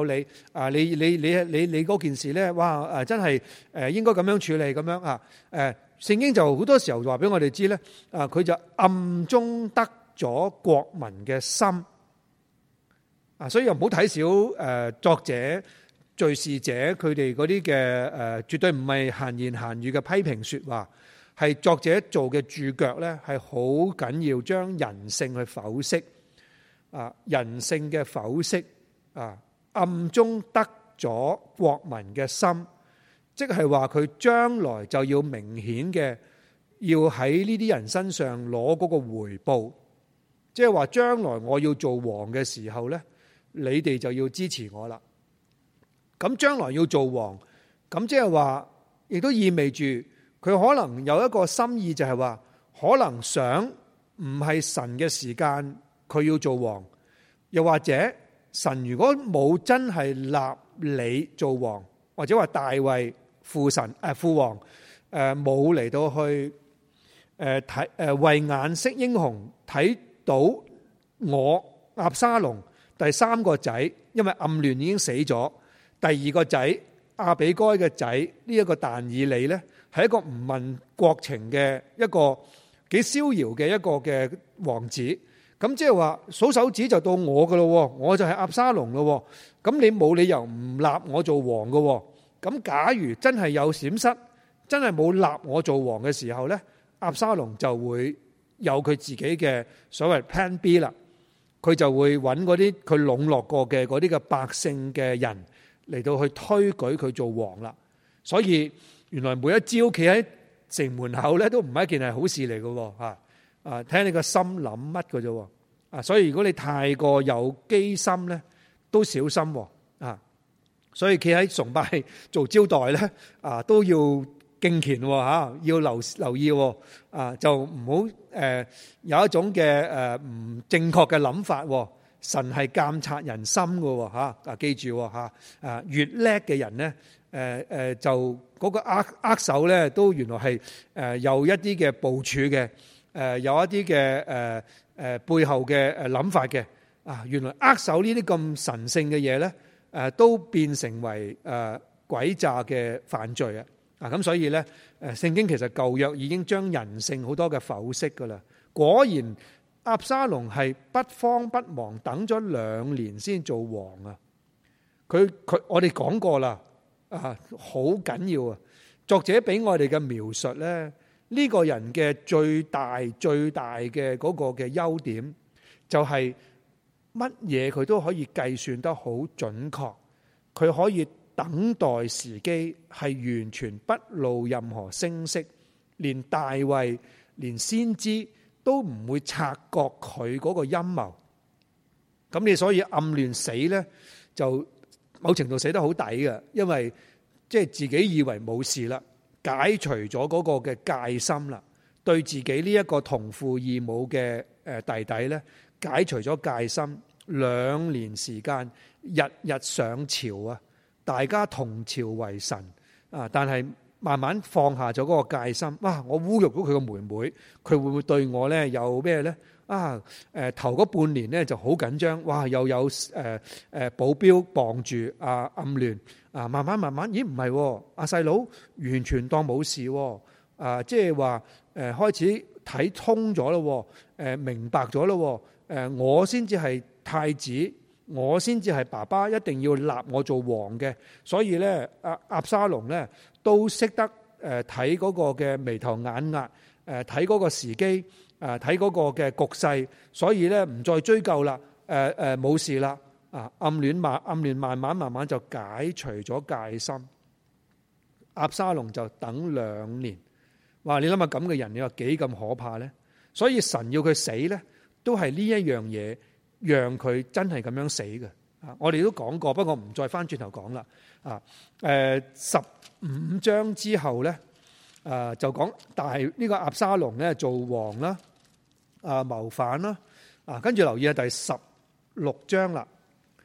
嗰件事咧，哇！真係應該咁樣處理咁樣啊。聖經就好多時候話俾我哋知咧，佢就暗中得咗國民嘅心。所以又唔好睇小作者、敘事者佢哋嗰啲嘅絕對唔係閒言閒語嘅批評說話，係作者做嘅注腳咧，係好緊要將人性去剖析人性嘅剖析暗中得咗國民嘅心，即係話佢將來就要明顯嘅要喺呢啲人身上攞嗰個回報，即係話將來我要做王嘅時候咧，你哋就要支持我啦。咁將來要做王，咁即係話，亦都意味住佢可能有一個心意，就係話可能想唔係神嘅時間，佢要做王，又或者神如果冇真係立你做王，或者話大衛父王冇嚟到去睇為眼識英雄，睇到我押沙龍第三個仔，因為暗嫩已經死咗。第二個仔亞比該嘅仔呢一個但以理呢，係一個唔問國情嘅一個幾逍遙嘅一個嘅王子。咁即係話數手指就到我噶咯，我就係押沙龍咯。咁你冇理由唔立我做王噶。咁假如真係有閃失，真係冇立我做王嘅時候呢，押沙龍就會有佢自己嘅所謂 Plan B 啦。佢就會揾嗰啲佢籠絡過嘅嗰啲嘅百姓嘅人嚟到去推舉佢做王啦。所以原來每一朝企喺城門口咧，都唔係一件係好事嚟嘅。睇下你個心諗乜嘅啫。所以如果你太過有機心咧，都小心。所以企喺崇拜做招待咧，都要敬虔要留意。就唔好有一種嘅唔正確嘅諗法。神係監察人心嘅。記住越叻嘅人咧，就嗰個握手咧，都原來係有一啲嘅部署嘅，有一啲嘅背後嘅諗法嘅。原來握手呢啲咁神聖嘅嘢咧，都變成為詭詐嘅犯罪啊！咁所以咧，聖經其實舊約已經將人性好多嘅剖析噶啦。果然押沙龍係不慌不忙等咗2年先做王啊！佢我哋講過啦，好緊要啊！作者俾我哋嘅描述咧，呢個人嘅最大嘅嗰個嘅優點就係乜嘢佢都可以計算得好準確，佢可以等待時機，係完全不露任何聲色，連大衛連先知都唔會察覺佢嗰個陰謀。咁你所以暗嫩死呢，就某程度死得好抵嘅，因為即係自己以為冇事啦，解除咗嗰個嘅戒心啦，對自己呢一個同父異母嘅弟弟呢，解除咗戒心。2年時間，日日上朝啊！大家同朝為臣但係慢慢放下咗嗰個戒心。哇！我侮辱到佢個妹妹，佢會唔會對我呢有咩呢？頭嗰半年呢就好緊張。哇！又有保鏢傍住暗嫩慢慢，咦唔係阿細佬完全當冇事即係話開始睇通咗咯，明白咗咯。我先至係太子，我先至係爸爸，一定要立我做王嘅。所以咧，押沙龍咧都識得睇嗰個嘅眉頭眼額，睇嗰個時機，睇嗰個嘅局勢。所以咧唔再追究啦，冇事啦。暗嫩慢慢就解除咗戒心。押沙龍就等2年。哇！你諗下咁嘅人，你話幾咁可怕咧？所以神要佢死咧，都係呢一樣嘢。讓佢真係咁樣死嘅。我哋都講過，不過唔再翻轉頭講啦。15章之後咧，就講呢個押沙龍咧做王啦，謀反啦。跟住留意下第16章啦。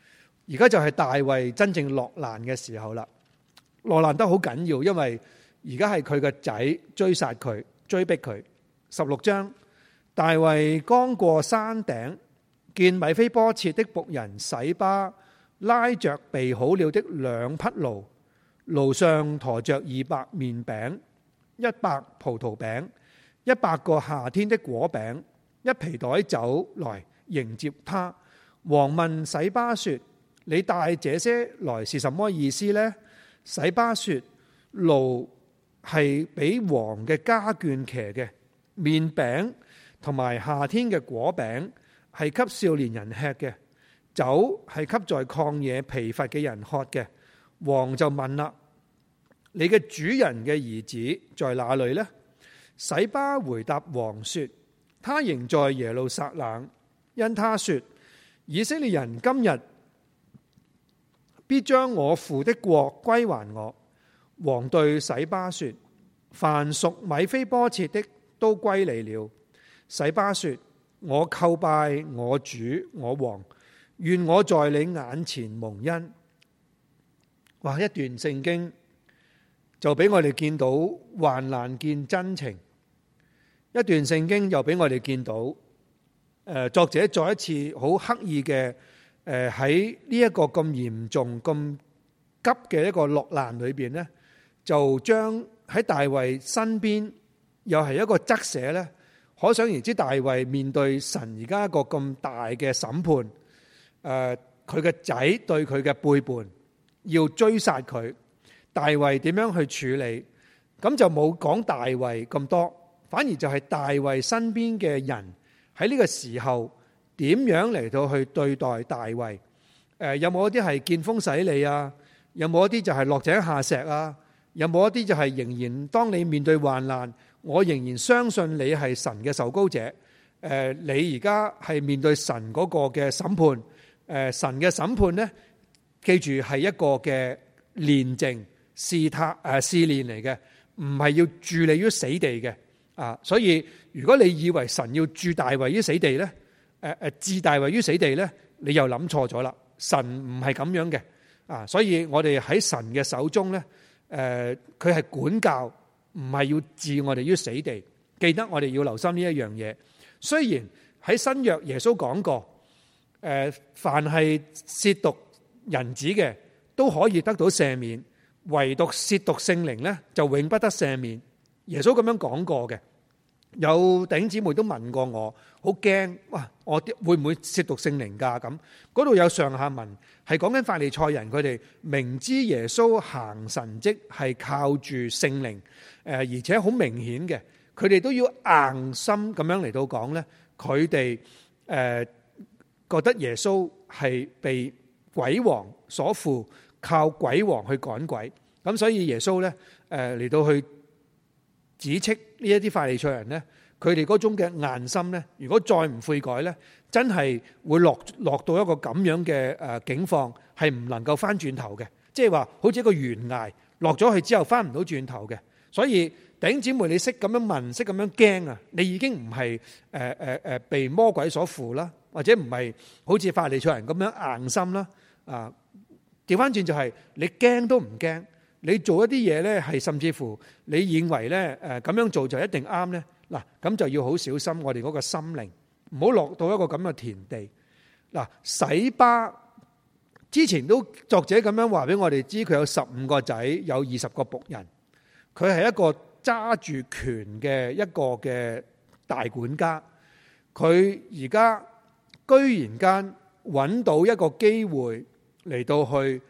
而家就係大衛真正落難嘅時候啦。落難得好緊要，因為而家係佢個仔追殺佢，追逼佢。16章，大衛剛過山頂，見米非波設的僕人洗巴拉着備好了的2匹驢，驢上馱着200麵餅、100葡萄餅、100個夏天的果餅、一皮袋酒來迎接他。王問洗巴說：你帶這些來是什麼意思呢？洗巴說：驢係俾王嘅家眷騎嘅，麵餅同埋夏天嘅果餅係給少年人吃嘅，酒係給在曠野疲乏嘅人喝嘅。王就問啦：你嘅主人嘅兒子在哪裏呢？洗巴回答王說：他仍在耶路撒冷，因他說以色列人今日必將我父的國歸還我。王對洗巴說：凡屬米非波設的都歸你了。洗巴說：我叩拜我主我王，願我在你眼前蒙恩。哇！一段聖經就俾我哋見到患難見真情，一段聖經又俾我哋見到作者再一次好刻意嘅喺呢一個咁嚴重咁急嘅一個落難裏邊呢，就將喺大衛身邊又係一個側寫呢。可想而知大衛面對神而家一個咁大嘅審判，佢嘅仔對佢嘅背叛，要追殺佢，大衛點樣去處理？咁就冇講大衛咁多，反而就係大衛身邊嘅人喺呢個時候點樣嚟到去對待大衛？有冇一啲係見風使舵啊？有冇一啲就係落井下石啊？有冇一啲就係仍然當你面對患難，我仍然相信你係神嘅受膏者？你而家係面對神嗰個嘅審判，神嘅審判呢，記住係一個嘅煉淨試煉嚟嘅，唔係要置你於死地嘅啊！所以如果你以為神要置大衛於死地呢，置大衛於死地呢，你又諗錯咗啦！神唔係咁樣嘅啊！所以我哋喺神嘅手中呢，佢係管教，唔係要置我哋於死地。記得我哋要留心呢一樣嘢。雖然喺新約耶穌講過，凡係褻瀆人子嘅都可以得到赦免，唯獨褻瀆聖靈呢，就永不得赦免。耶穌咁樣講過嘅。有弟兄姊妹都問過我，好驚哇！我會唔會褻瀆聖靈㗎？咁嗰度有上下文係講緊法利賽人，佢哋明知耶穌行神蹟係靠住聖靈，而且好明顯嘅，佢哋都要硬心咁樣嚟到講呢，佢哋覺得耶穌係被鬼王所附，靠鬼王去趕鬼，咁所以耶穌呢嚟到去指斥呢一啲法利賽人呢，佢哋嗰種嘅硬心呢，如果再唔悔改呢，真係會落到一個咁樣嘅境況，係唔能夠翻轉頭嘅，即係話好似一個懸崖落咗去之後翻唔到轉頭嘅。所以弟兄姊妹，你識咁樣問，識咁樣驚啊，你已經唔係被魔鬼所附啦，或者唔係好似法利賽人咁樣硬心啦。啊，調翻轉就係你驚都唔驚。你做一啲嘢呢，係甚至乎你認為呢咁樣做就一定啱呢？嗱，咁就要好小心我哋嗰個心靈，唔好落到一個咁嘅田地。嗱，洗巴之前都作者咁樣話俾我哋知，佢有15個仔，有20個僕人，佢係一個揸住權嘅一個嘅大管家。佢而家居然間揾到一個機會嚟到去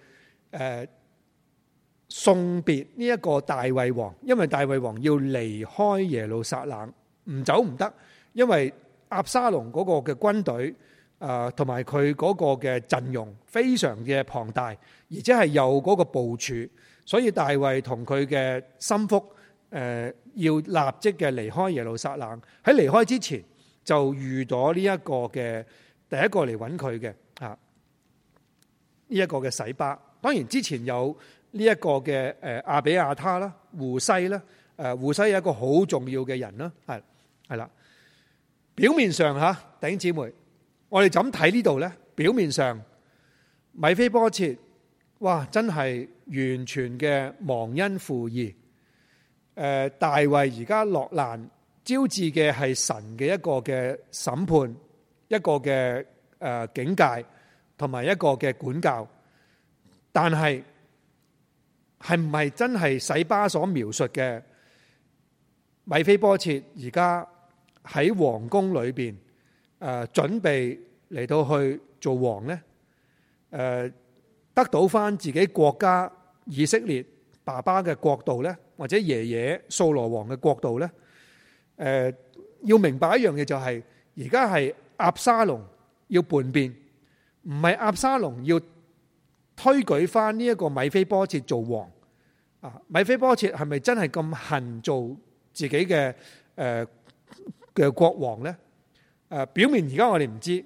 送別呢一個大衛王，因為大衛王要離開耶路撒冷，唔走唔得，因為押沙龍嗰個嘅軍隊同埋佢嗰個嘅陣容非常嘅龐大，而且係有嗰個部署，所以大衛同佢嘅心腹要立即嘅離開耶路撒冷。喺離開之前就遇咗呢一個嘅第一個嚟揾佢嘅呢一個嘅洗巴。當然之前有呢一個嘅亞比亞他啦、戶篩啦，戶篩係一個好重要嘅人啦，係啦。表面上弟兄姊妹，我哋就咁睇呢度咧，表面上米非波設，哇，真係完全嘅忘恩負義。大衛而家落難，招致嘅係神嘅一個嘅審判，一個嘅警戒，同埋一個嘅管教。但係唔係真係洗巴所描述嘅米非波設而家喺皇宮裏邊準備嚟到去做王呢？得到翻自己國家以色列爸爸嘅國度呢，或者爺爺掃羅王嘅國度呢？要明白一樣嘢就係，而家係押沙龍要叛變，唔係押沙龍要推舉翻呢一個米非波設做王。米非波設係咪真係咁恨做自己嘅國王呢？表面而家我哋唔知。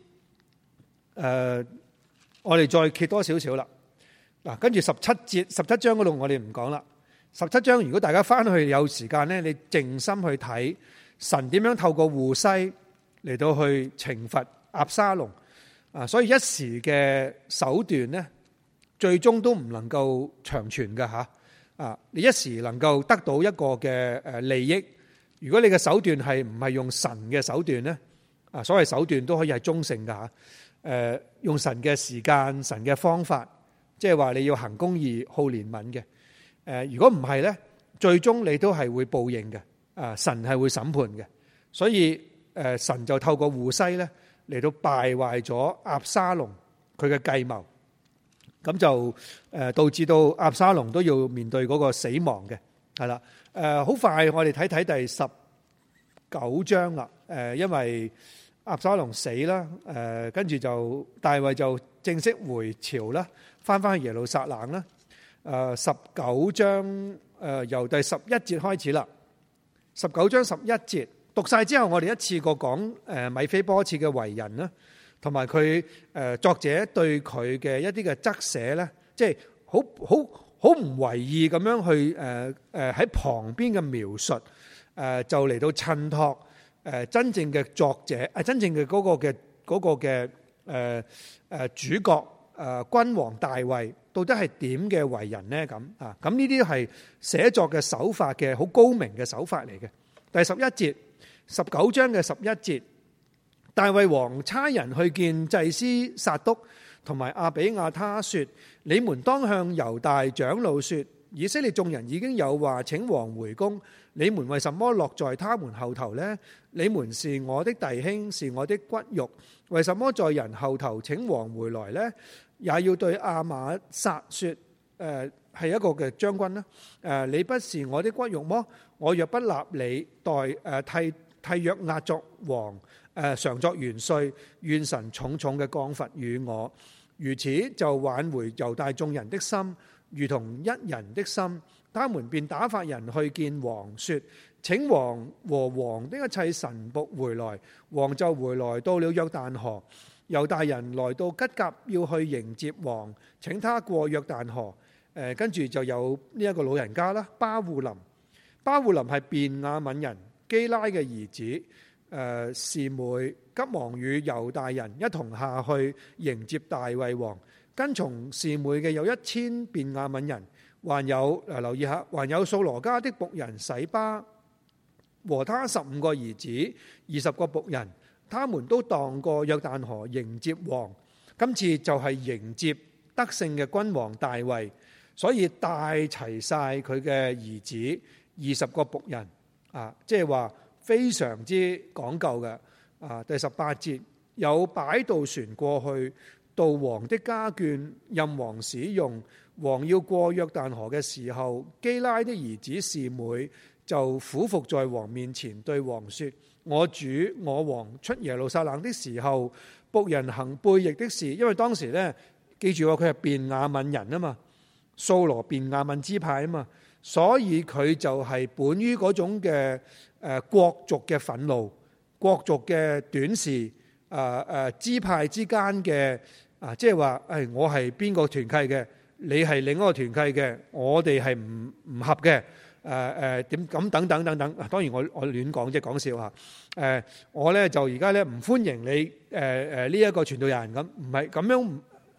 我哋再揭多少少啦。嗱，跟住17章嗰度我哋唔講啦。17章如果大家翻去有時間呢，你靜心去睇神點樣透過戶篩嚟到去懲罰押沙龍。所以一時嘅手段呢，最終都唔能夠長存㗎吓。你一時能夠得到一個嘅利益，如果你嘅手段係唔係用神嘅手段呢？所謂手段都可以係中性㗎吓。用神嘅時間、神嘅方法，即係話你要行公義、好憐憫嘅。如果唔係呢，最終你都係會報應嘅。神係會審判嘅。所以神就透過戶篩呢嚟到敗壞咗押沙龍佢嘅計謀，咁就導致到押沙龍都要面對嗰個死亡嘅。係啦，好快我哋睇睇第19章啦。因為押沙龍死啦，跟住就大衛就正式回朝啦，翻去耶路撒冷啦。19章由第11節開始啦。19章11節讀晒之後，我哋一次過講米非波設嘅為人啦，同埋佢作者對佢嘅一啲嘅側寫咧，即係好唔為意咁樣去喺旁邊嘅描述，就嚟到襯托。真正嘅作者，真正嘅嗰個嘅主角，君王大衛到底係點嘅為人呢？咁呢啲係寫作嘅手法嘅好高明嘅手法嚟嘅。第11節，19章嘅11節，大衛王差人去見祭司撒督同埋亞比亞他說：你們當向猶大長老說，以色列眾人已經有話請王回宮，你們為什麼落在他們後頭呢？你們是我的弟兄，是我的骨肉，為什麼在人後頭請王回來呢？也要對亞瑪撒說，係一個嘅將軍啦。你不是我的骨肉麼？我若不立你替約押作王，常作元帥，願神重重嘅降罰與我，如此就挽回猶大眾人的心，如同一人的心。他們便打發人去見王，說：請王和王的一切臣僕回來。王就回來到了約旦河。猶大人來到吉甲，要去迎接王，請他過約旦河。跟住就有呢一個老人家啦，巴戶琳。巴戶琳係便雅憫人基拉嘅兒子，示每急忙與猶大人一同下去迎接大衛王。跟從示每嘅有1000便雅憫人。還有留意下，還有掃羅家的僕人洗巴和他15個兒子，20個僕人，他們都蕩過約旦河迎接王。今次就係迎接得勝嘅君王大衛，所以帶齊晒佢嘅兒子20個僕人，即係話非常之講究嘅。第18節，有擺渡船過去到王的家眷，任王使用。王要過約旦河嘅時候，基拉的兒子示每就俯伏在王面前，對王說：我主我王出耶路撒冷的時候，僕人行背逆的事。因為當時呢，記住佢係便雅憫人啊嘛，掃羅便雅憫支派啊嘛，所以佢就係本於嗰種嘅國族嘅憤怒、國族嘅短視、支派之間嘅即係話我係邊個團契嘅？你係另一個團契嘅，我哋係唔合嘅，點咁等等等等。當然我亂講即係講笑嚇。我咧就而家咧唔歡迎你呢一個傳道人咁，唔係咁樣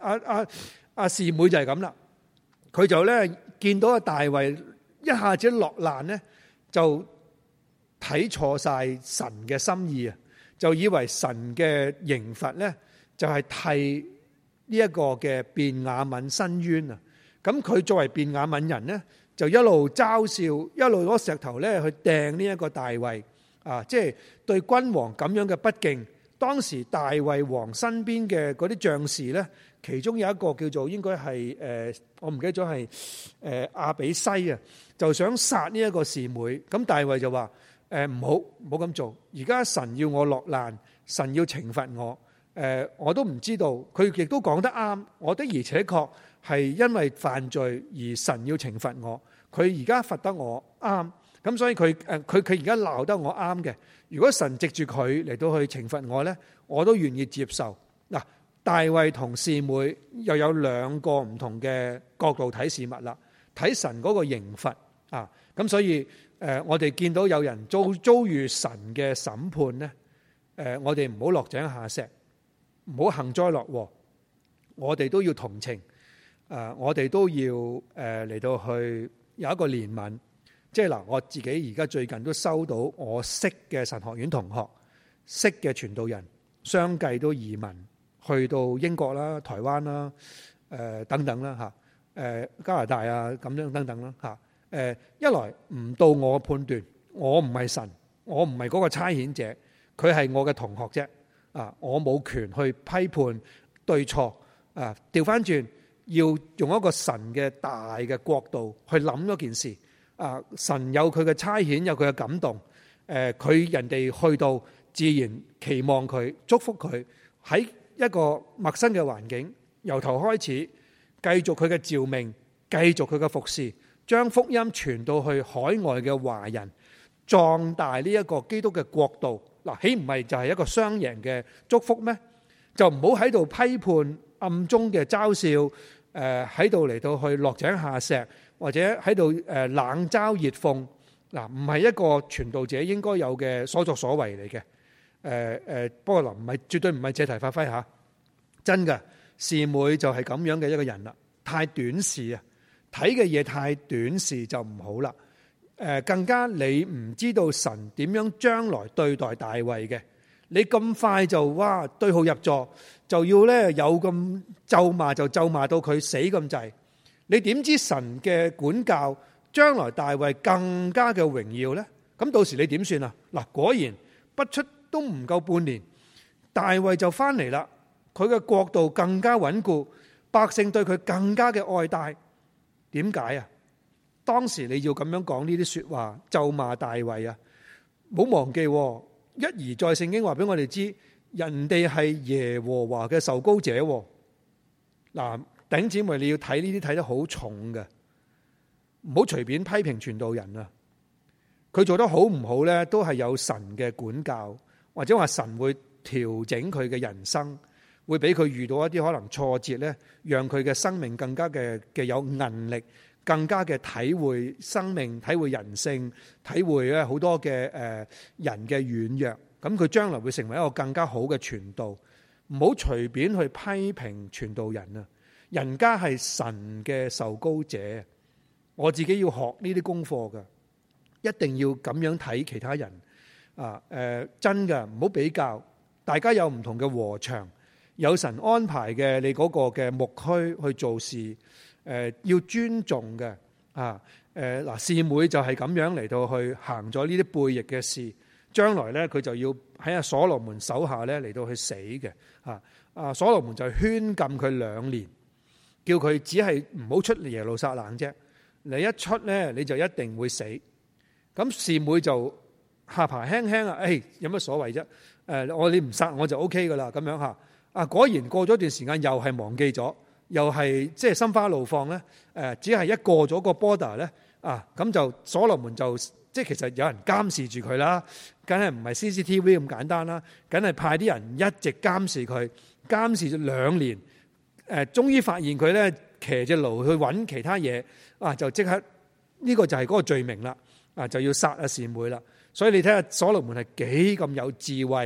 示每就係咁啦，佢就咧見到阿大衛一下子落難咧，就睇錯晒神嘅心意啊，就以為神嘅刑罰咧就係替呢一個嘅便雅憫伸冤啊。咁佢作為便雅憫人咧，就一路嘲笑，一路攞石頭咧去掟呢一個大衛啊，即係對君王咁樣嘅不敬。當時大衛王身邊嘅嗰啲將士咧，其中有一個叫做應該係我唔記得咗係亞比篩啊，就想殺呢一個示每。咁大衛就話唔好咁做，而家神要我落難，神要懲罰我，我都唔知道。佢亦都講得啱，我的而且確係因為犯罪而神要懲罰我。佢而家罰得我啱，咁所以佢而家鬧得我啱嘅。如果神藉住佢嚟到去懲罰我呢，我都願意接受。嗱，大衛同示每又有兩個唔同嘅角度睇事物啦，睇神嗰個刑罰啊。咁所以我哋見到有人遭遇神嘅審判呢，我哋唔好落井下石，唔好幸災樂禍，我哋都要同情，我哋都要嚟到去有一個憐憫。即係嗱，我自己而家最近都收到我識嘅神學院同學、識嘅傳道人，相繼都移民去到英國啦、台灣啦、等等啦嚇，加拿大啊咁樣等等啦嚇。一來唔到我判斷，我唔係神，我唔係嗰個差遣者，佢係我嘅同學啫。啊，我冇權去批判對錯。啊，調翻轉要用一個神嘅大嘅角度去諗嗰件事。啊！神有佢嘅差遣，有佢嘅感動。佢人哋去到，自然期望佢祝福佢喺一個陌生嘅環境，由頭開始繼續佢嘅召命，繼續佢嘅服侍，將福音傳到去海外嘅華人，壯大呢一個基督嘅國度。嗱，豈唔係就係一個雙贏嘅祝福咩？就唔好喺度批判暗中嘅嘲笑，喺度嚟到去落井下石。或者喺度冷嘲熱諷，嗱，唔係一個傳道者應該有嘅所作所為嚟嘅。不過唔係，絕對唔係借題發揮嚇，真嘅。示每就係咁樣嘅一個人啦，太短視啊，睇嘅嘢太短視就唔好啦。更加你唔知道神點樣將來對待大衛嘅，你咁快就哇對號入座，就要咧有咁咒罵就咒罵到佢死咁滯。你點知神嘅管教將來大衛更加嘅榮耀呢？咁到時你點算啊？嗱，果然不出都唔夠半年，大衛就翻嚟啦。佢嘅國度更加穩固，百姓對佢更加嘅愛戴。點解啊？當時你要咁樣講呢啲說話咒罵大衛啊？唔好忘記，一而再聖經話俾我哋知，人哋係耶和華嘅受膏者。嗱。弟兄姊妹，你要睇呢啲睇得好重嘅，唔好隨便批評傳道人啊！佢做得好唔好呢？都係有神嘅管教，或者話神會調整佢嘅人生，會俾佢遇到一啲可能挫折呢，讓佢嘅生命更加嘅有韌力，更加嘅體會生命、體會人性、體會咧好多嘅人嘅軟弱。咁佢將來會成為一個更加好嘅傳道。唔好隨便去批評傳道人啊！人家係神嘅受膏者，我自己要學呢啲功課㗎，一定要咁樣睇其他人啊！真㗎，唔好比較，大家有唔同嘅禾場，有神安排嘅你嗰個嘅牧區去做事，要尊重嘅啊！嗱，示每就係咁樣嚟到去行咗呢啲悖逆嘅事，將來咧佢就要喺阿所羅門手下咧嚟到去死嘅啊！所羅門就勸禁佢2年。叫佢只係唔好出耶路撒冷啫，你一出咧你就一定會死。咁示每就下巴輕輕啊，有乜所謂啫？你唔殺我就 OK 噶啦，咁樣嚇。啊，果然過咗段時間又係忘記咗，又係即係心花怒放咧。只係一過咗個 border 咧，咁就所羅門就即係其實有人監視住佢啦，梗係唔係 CCTV 咁簡單啦，梗係派啲人一直監視佢，監視咗2年。終於發現佢咧騎隻驢去揾其他嘢，就即刻呢個就係嗰個罪名啦，就要殺示每啦。所以你睇下所羅門係幾咁有智慧，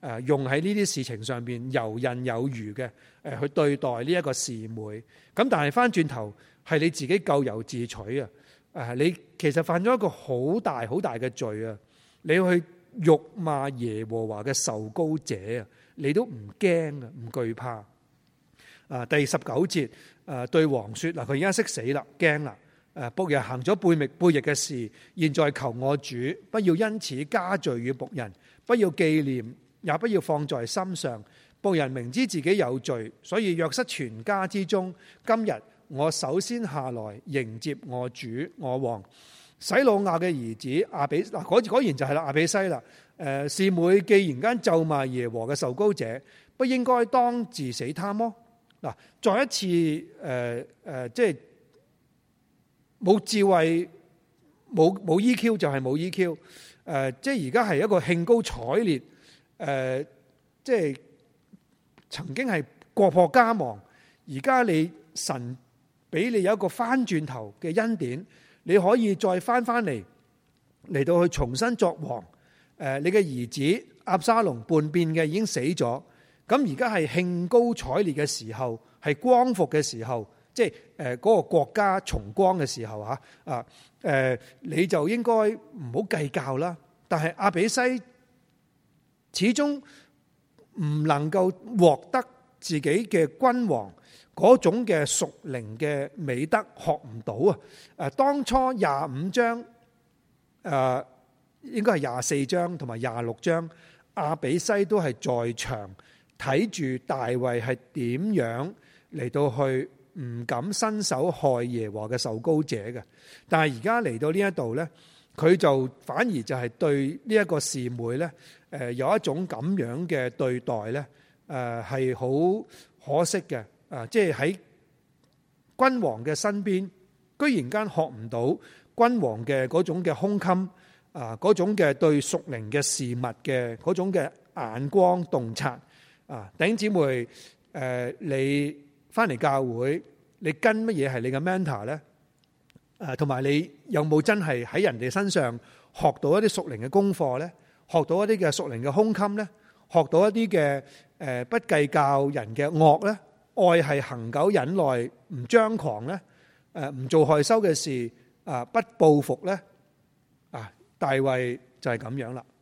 用喺呢啲事情上邊游刃有餘嘅去對待呢一個示每。咁但係翻轉頭係你自己咎由自取啊！你其實犯咗一個好大好大嘅罪啊！你去辱罵耶和華嘅受膏者啊，你都唔驚啊，唔懼怕啊！第19節對王說嗱，佢而家識死啦，驚啦！僕人行咗背逆嘅事，現在求我主不要因此加罪與僕人，不要紀念，也不要放在心上。僕人明知自己有罪，所以約瑟全家之中，今日我首先下來迎接我主我王。洗魯雅嘅兒子亞比，果然就係啦，亞比篩啦。示每既然間咒罵耶和嘅受膏者，不應該當治死他麼？嗱，再一次即係冇智慧，冇 EQ 就係冇 EQ。即係而家係一個興高采烈，即係曾經係國破家亡，而家你神俾你有一個翻轉頭嘅恩典，你可以再翻嚟到去重新作王。你嘅兒子押沙龍叛變嘅已經死咗，咁而家係興高采烈嘅時候，係光復嘅時候，即係嗰個國家重光嘅時候嚇你就應該唔好計較啦。但係亞比篩始終唔能夠獲得自己嘅君王嗰種嘅屬靈嘅美德，學唔到啊！當初25章應該係24章同埋26章，亞比篩都係在場睇住大衛係點樣嚟到去唔敢伸手害耶和華嘅受膏者嘅。但係而家嚟到呢一度呢，佢就反而就係對呢一個示每呢，有一種咁樣嘅對待呢，係好可惜嘅。即係喺君王嘅身邊，居然間學唔到君王嘅嗰種嘅胸襟，嗰種嘅對屬靈嘅事物嘅嗰種嘅眼光洞察。弟兄姊妹，你翻嚟教會，你跟乜嘢係你嘅 mentor 呢？同埋你有冇真係喺人哋身上學到一啲屬靈嘅功課呢？學到一啲嘅屬靈嘅胸襟呢？學到一啲嘅不計較人嘅惡呢？愛係恆久忍耐，唔張狂呢？唔做害羞嘅事，不報復呢？大衛就係咁樣啦。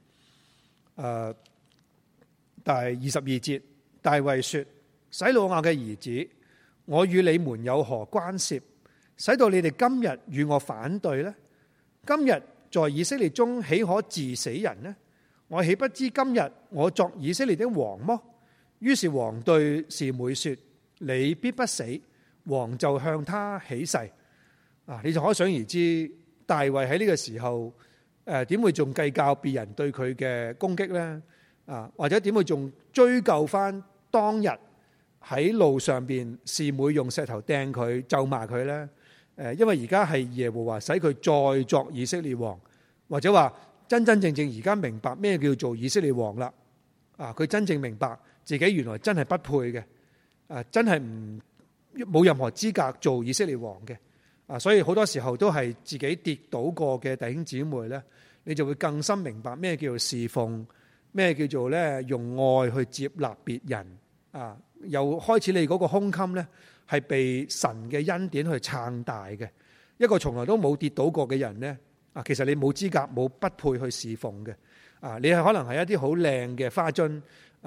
第22節，大衛說：洗魯雅嘅兒子，我與你們有何關涉，使到你哋今日與我反對呢？今日在以色列中豈可治死人呢？我豈不知今日我作以色列的王麼？於是王對示每說：你必不死。王就向他起誓。你就可想而知，大衛喺呢個時候點會仲計較別人對佢嘅攻擊呢？或者點會仲追究翻當日喺路上邊示每用石頭掟佢咒罵佢呢？因為而家係耶和華使佢再作以色列王，或者話真真正正而家明白咩叫做以色列王啦。佢真正明白自己原來真係不配嘅，真係冇任何資格做以色列王嘅。所以好多時候都係自己跌倒過嘅弟兄姊妹呢，你就會更深明白咩叫做侍奉，咩叫做咧用愛去接納別人。又開始你嗰個胸襟呢，係被神嘅恩典去撐大嘅。一個從來都冇跌倒過嘅人呢，其實你冇資格，冇不配去侍奉嘅。你係可能係一啲好靚嘅花樽，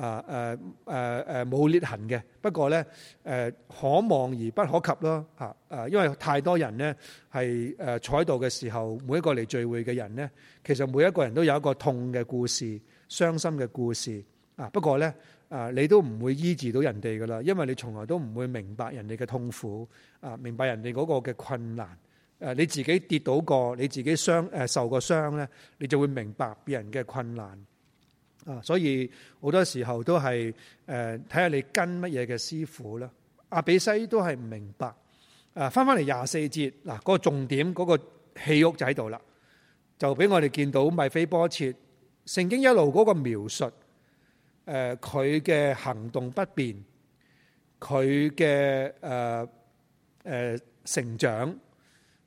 冇裂痕嘅，不過呢，可望而不可及咯。因為太多人呢係坐喺度嘅時候，每一個嚟聚會嘅人呢，其實每一個人都有一個痛嘅故事、傷心嘅故事。不過呢，你都唔會醫治到人哋噶啦，因為你從來都唔會明白人哋嘅痛苦，明白人哋嗰個嘅困難。你自己跌倒過，你自己受過傷呢，你就會明白別人嘅困難。所以好多時候都係睇下你跟乜嘢嘅師傅啦。亞比篩都係唔明白。翻嚟24節嗱，嗰個重點嗰個戲屋就喺度啦，就俾我哋見到米非波設。聖經一路嗰個描述，佢嘅行動不便，佢嘅成長，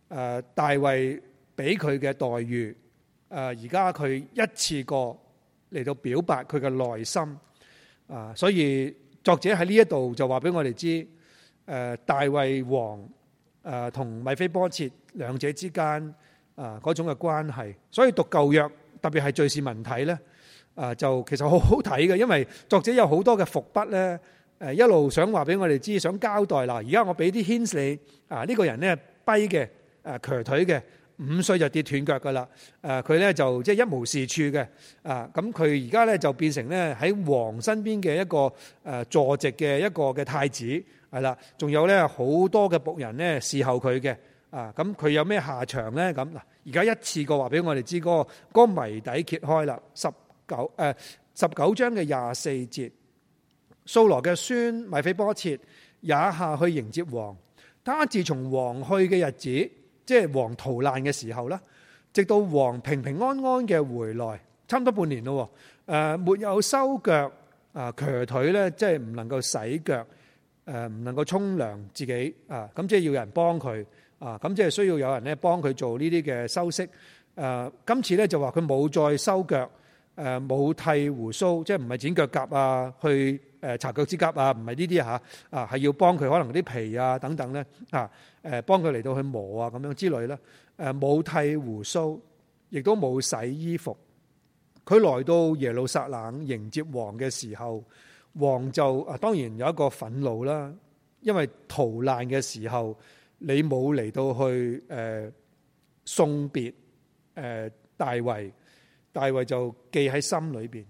大衛俾佢嘅待遇，而家佢一次過嚟到表白佢嘅內心啊。所以作者喺呢一度就話俾我哋知，大衛王同米非波設兩者之間嗰種嘅關係。所以讀舊約特別係敘事文體咧，就其實好好睇嘅，因為作者有好多嘅伏筆咧，一路想話俾我哋知，想交代啦。而家我俾啲 hints 你，呢個人咧跛嘅，瘸腿嘅，5歲就跌斷腳噶啦。佢咧就即係一無是處嘅。咁佢而家咧就變成咧喺王身邊嘅一個坐席嘅一個嘅太子，係啦。仲有咧好多嘅僕人咧侍候佢嘅。咁佢有咩下場咧？咁嗱，而家一次過話俾我哋知嗰個謎底揭開啦。19章嘅24節，掃羅嘅孫米非波設也下去迎接王。他自從王去嘅日子，即係王逃難嘅時候啦，直到王平平安安嘅回來，差唔多半年咯。沒有收腳，瘸腿咧，即係唔能夠洗腳，唔能夠沖涼自己，咁即係要有人幫佢，咁即係需要有人咧幫佢做呢啲嘅修飾。今次咧就話佢冇再收腳，冇剃鬍鬚，即係唔係剪腳甲啊，去搽腳趾甲啊，唔係呢啲嚇，係要幫佢可能啲皮啊等等咧，幫佢嚟到去磨啊咁樣之類啦。冇剃鬍鬚，亦都冇洗衣服。佢來到耶路撒冷迎接王嘅時候，王就當然有一個憤怒啦，因為逃難嘅時候你冇嚟到去送別大衛，大衛就記喺心裏邊。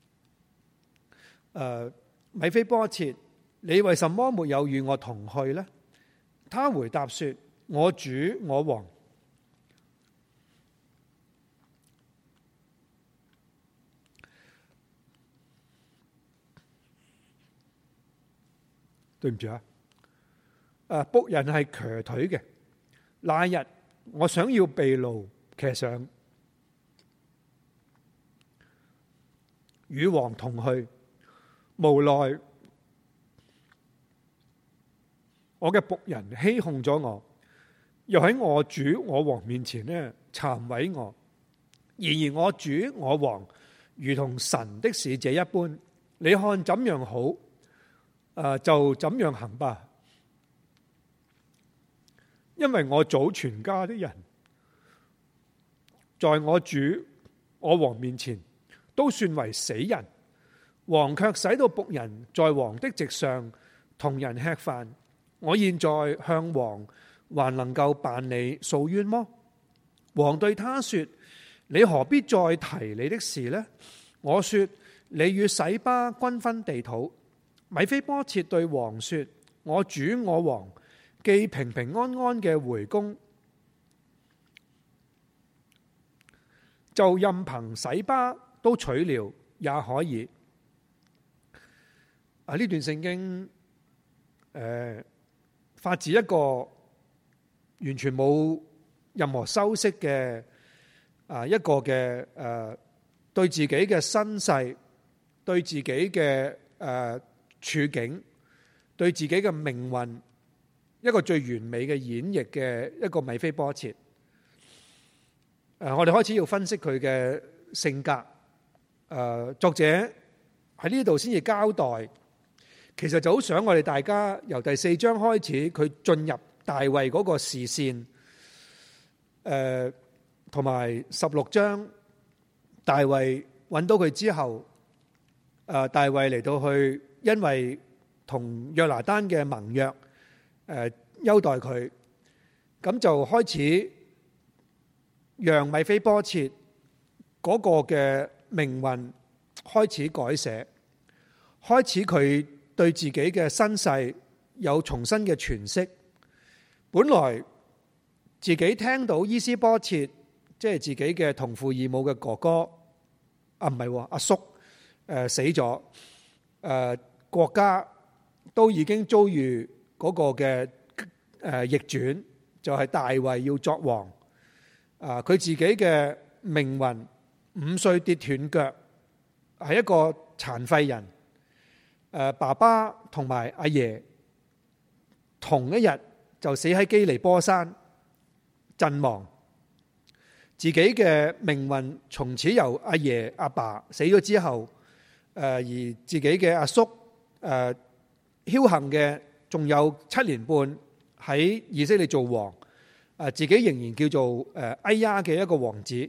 米非波設，你為什麼沒有與我同去呢？他回答說：我主我王。對唔住僕人係瘸腿嘅。那日我想要被擄騎上，與王同去，無奈我嘅僕人欺哄咗我，又喺我主我王面前呢讒毀我。然而我主我王如同神的使者一般，你看怎樣好，就怎樣行吧。因為我祖全家的人在我主我王面前都算為死人，王卻使到僕人在王的席上同人吃飯。我現在向王還能夠辦理訴冤麼？王對他說：你何必再提你的事呢？我說：你與洗巴均分地土。米非波設對王說：我主我王既平平安安嘅回宮，就任憑洗巴都取了也可以。呢段聖經發自一個完全冇任何修飾嘅一個嘅對自己嘅身世、對自己嘅處境、對自己嘅命運，一個最完美嘅演繹嘅一個米非波設。我哋開始要分析佢嘅性格。作者喺呢度先至交代，其實就好想我哋大家由第4章開始，佢進入大衛嗰個視線，同埋16章大衛揾到佢之後，大衛嚟到去，因為同約拿單嘅盟約，優待佢，咁就開始讓米非波設嗰個嘅命運開始改寫，開始佢對自己嘅身世有重新嘅詮釋。本來自己聽到伊施波設，即係自己嘅同父異母嘅哥哥，唔係阿叔，死咗，國家都已經遭遇嗰個嘅逆轉，就係大衛要作王。佢自己嘅命運，5歲跌斷腳，係一個殘廢人。爸爸同埋阿爺同一日就死喺基利波山陣亡，自自己嘅命運從此由阿爺阿爸死咗之後，而自己嘅阿叔僥倖嘅仲有7年半喺以色列做王，自己仍然叫做哎呀嘅一個王子，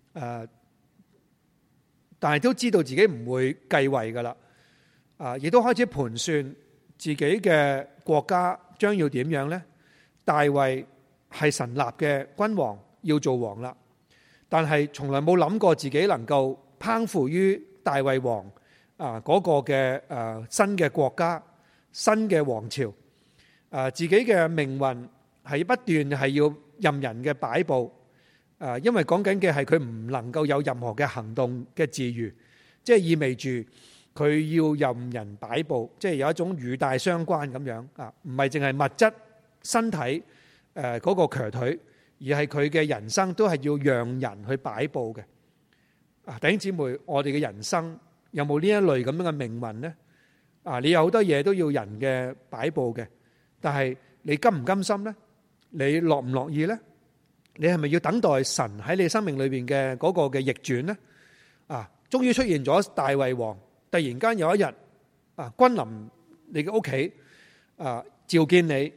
但係都知道自己唔會繼位噶啦，亦都開始盤算自己嘅國家將要點樣呢？大衛係神立嘅君王，要做王啦，但係從來冇諗過自己能夠攀附於大衛王嗰個嘅新嘅國家、新嘅王朝，自己嘅命運係不斷係要任人嘅擺布，因為講緊嘅係佢唔能夠有任何嘅行動嘅自如，即係意味住佢要任人擺布，即係有一種語帶相關咁樣唔係淨係物質身體嗰個瘸腿，而係佢嘅人生都係要讓人去擺布嘅。弟兄姊妹，我哋嘅人生有冇呢一類咁樣嘅命運呢？你有好多嘢都要人嘅擺布嘅，但係你甘唔甘心呢？你樂唔樂意呢？你係咪要等待神喺你生命裏邊嘅嗰個嘅逆轉呢？終於出現咗大衛王，突然間有一日君臨你嘅屋企，召見你，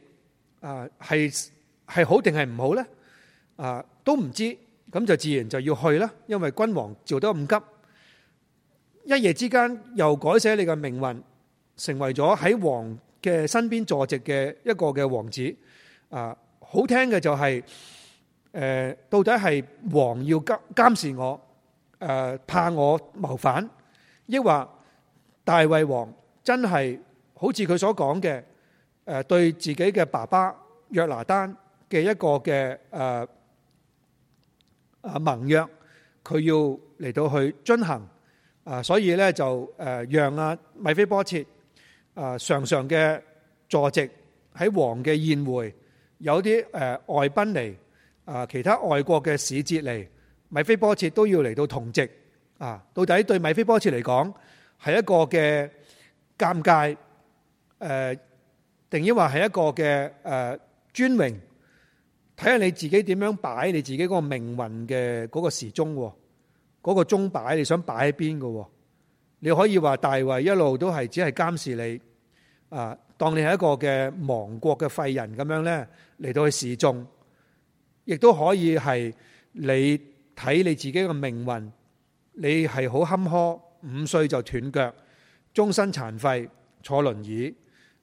係好定係唔好呢？都唔知，咁就自然就要去啦。因為君王召得咁急，一夜之間又改寫你嘅命運，成為咗喺王嘅身邊坐席嘅一個嘅王子。好聽嘅就係到底係王要監視我，怕我謀反，抑或大衛王真係好似佢所講嘅，對自己嘅爸爸約拿單嘅一個嘅盟約，佢要嚟到去遵行，所以咧就讓米非波設常常嘅坐席喺王嘅宴會，有啲外賓嚟，其他外國嘅使節嚟，米非波設都要嚟到同席。到底對米非波設嚟講係一個嘅尷尬，定抑或係一個嘅尊榮？睇下你自己點樣擺你自己嗰個命運嘅嗰個時鐘，嗰個鐘擺你想擺喺邊嘅？你可以話大衛一路都係只係監視你，當你係一個嘅亡國嘅廢人咁樣咧嚟到去示眾，亦都可以係你睇你自己嘅命運，你係好坎坷，5歲就斷腳，終身殘廢，坐輪椅，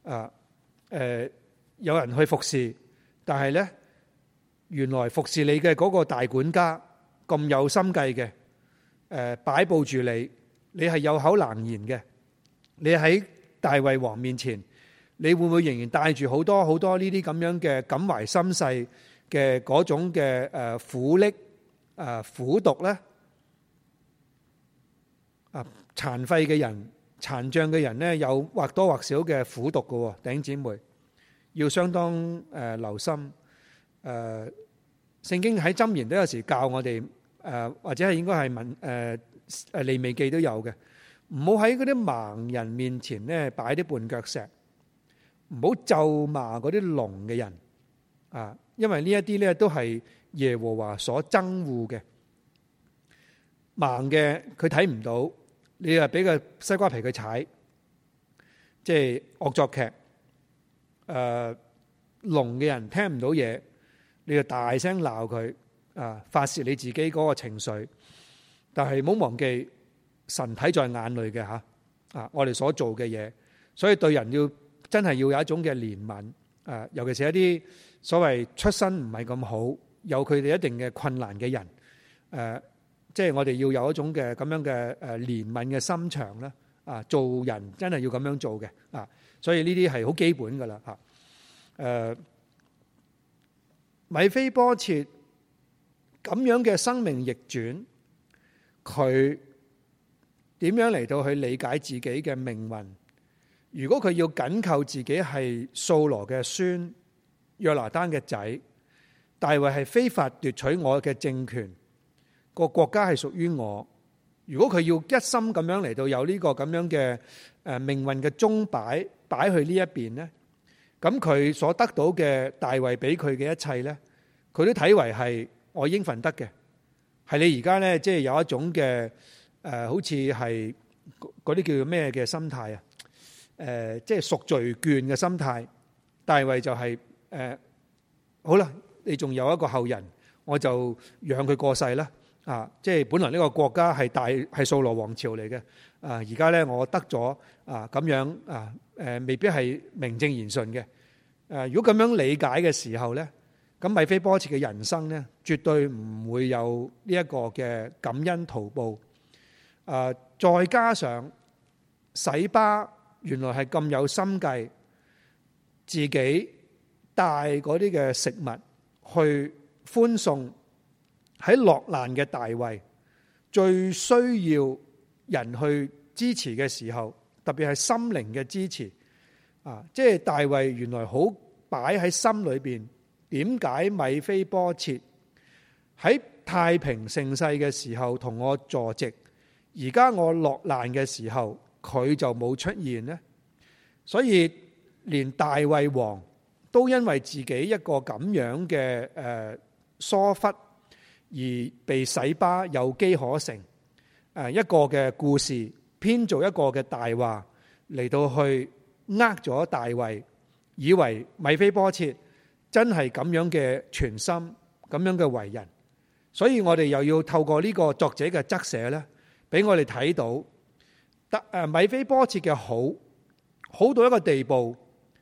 有人去服侍，但係咧原來服侍你嘅嗰個大管家咁有心計嘅，擺佈住你，你係有口難言嘅，你喺大衛王面前，你會唔會仍然帶住好多好多呢啲咁樣嘅感懷心細嘅嗰種嘅苦暱苦毒咧？殘廢嘅人、殘障嘅人咧，有或多或少嘅苦毒嘅，弟兄姊妹要相當留心。聖經喺箴言都有時教我哋，或者係應該係利未記都有嘅，唔好喺嗰啲盲人面前咧擺啲絆腳石，唔好咒罵嗰啲聾嘅人，因為呢一啲咧都係耶和華所憎惡嘅。盲嘅佢睇唔到，你又俾個西瓜皮佢踩，即係惡作劇。聾嘅人聽唔到嘢，你就大聲鬧佢，發洩你自己嗰個情緒。但係唔好忘記神睇在眼裏嘅吓，我哋所做嘅嘢，所以對人要真係要有一種嘅憐憫，尤其是一啲所謂出身唔係咁好，有佢哋一定嘅困難嘅人，即係我哋要有一種嘅咁樣嘅憐憫嘅心腸啦，做人真係要咁樣做嘅，所以呢啲係好基本噶啦吓。米非波設咁樣嘅生命逆轉，佢點樣嚟到去理解自己嘅命運？如果佢要緊扣自己係掃羅嘅孫、約拿單嘅仔，大衛係非法奪取我嘅政權，個國家係屬於我。如果佢要一心咁樣嚟到有呢個咁樣嘅命運嘅鐘擺去呢一邊呢，咁佢所得到嘅大衛俾佢嘅一切呢，佢都睇為係我應份得嘅。 係你而家咧即係有一種嘅好似係嗰啲叫做咩嘅心態啊？即係贖罪券嘅心態。大衛就係好啦，你仲有一個後人，我就讓佢過世啦。即係本來呢個國家係掃羅王朝嚟嘅，而家咧我得咗咁樣未必係名正言順嘅。如果咁樣理解嘅時候咧，咁米非波設嘅人生咧，絕對唔會有呢一個嘅感恩圖報。再加上洗巴原來係咁有心計，自己帶嗰啲嘅食物去歡送喺落難嘅大衛，最需要人去支持嘅時候，特別係心靈嘅支持。即係大衛原來好擺喺心裏邊。點解米非波設喺太平盛世嘅時候同我坐席，而家我落難嘅時候佢就冇出現呢？所以連大衛王都因為自己一個咁樣嘅疏忽而被洗巴有機可乘。一個嘅故事編造一個嘅大話嚟到去咗大衛，以為米非波設真係咁樣嘅全心，咁樣嘅為人。所以我哋又要透過呢個作者嘅側寫咧，俾我哋睇到米非波設嘅好到一個地步，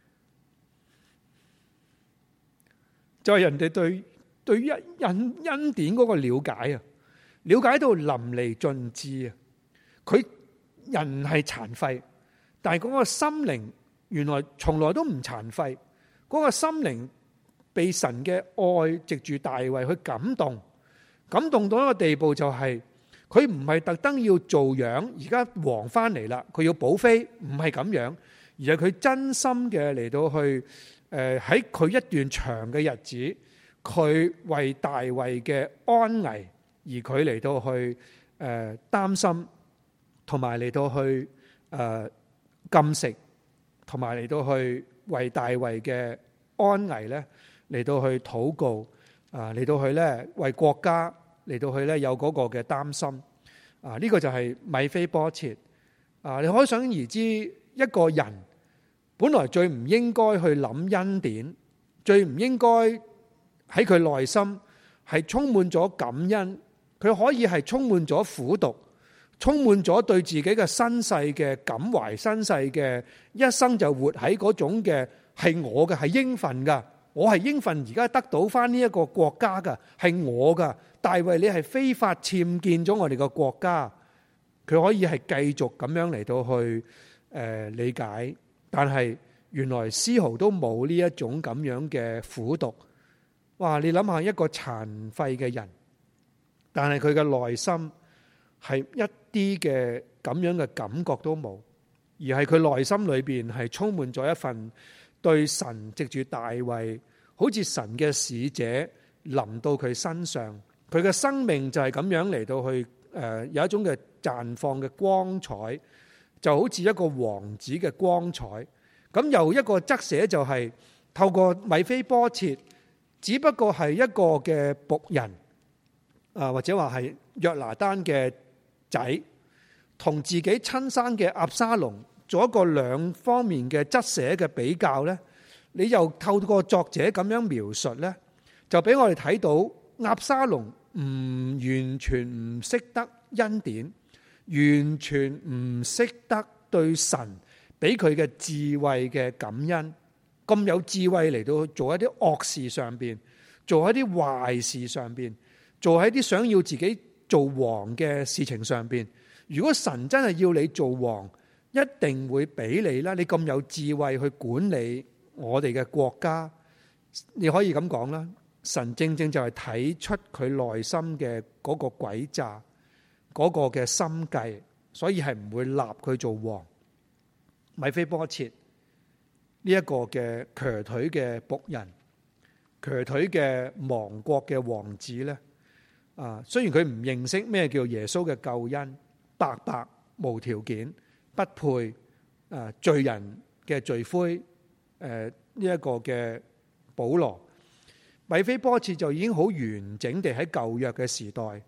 就係人哋對於恩典嗰個了解啊，了解到淋漓盡致啊。佢人係殘廢，但係嗰個心靈原來從來都唔殘廢。嗰個心靈被神嘅愛藉住大衛去感動到一個地步，就係佢唔係特登要做樣。而家王翻嚟啦，佢要補妃，唔係咁樣，而係佢真心嘅嚟到去喺佢一段長嘅日子，佢為大衛嘅安危而佢嚟到去擔心，同埋嚟到去禁食，同埋嚟到去為大衛嘅安危咧嚟到去禱告，嚟到去咧為國家嚟到去咧有嗰個嘅擔心。呢個就係米非波設。你可想而知，一個人本來最唔應該去諗恩典，最唔應該喺佢內心係充滿咗感恩，佢可以係充滿咗苦毒，充滿咗對自己嘅身世嘅感懷，身世嘅一生就活喺嗰種嘅係我嘅，係應份噶，我係應份而家得到翻呢一個國家噶，係我噶。大衛你係非法僭建咗我哋個國家，佢可以係繼續咁樣嚟到去理解，但係原來絲毫都冇呢一種咁樣嘅苦毒。哇！你諗下一個殘廢嘅人，但係佢嘅內心係一啲嘅咁樣嘅感覺都冇，而係佢內心裏邊係充滿咗一份對神藉住大衛，好似神嘅使者臨到佢身上，佢嘅生命就係咁樣嚟到去有一種嘅綻放嘅光彩，就好似一個王子嘅光彩。咁又一個側寫就係透過米非波設，只不過係一個嘅僕人，或者話係約拿單嘅仔，同自己親生嘅押沙龍做一個兩方面嘅側寫嘅比較呢，你又透過作者咁樣描述呢，就俾我哋睇到押沙龍唔完全唔識得恩典，完全唔識得對神俾佢嘅智慧嘅感恩，咁有智慧嚟到做一啲惡事上邊，做一啲壞事上邊，做喺啲想要自己做王嘅事情上邊。如果神真係要你做王，一定會俾你啦。你咁有智慧去管理我哋嘅國家，你可以咁講啦。神正正就係睇出佢內心嘅嗰個詭詐，嗰個嘅心計，所以係唔會立佢做王。米非波設呢一個嘅瘸腿嘅僕人，瘸腿嘅亡國嘅王子咧，雖然佢唔認識咩叫耶穌嘅救恩，白白無條件不配，罪人嘅罪魁，呢一個嘅保羅，米非波設就已經好完整地喺舊約嘅時代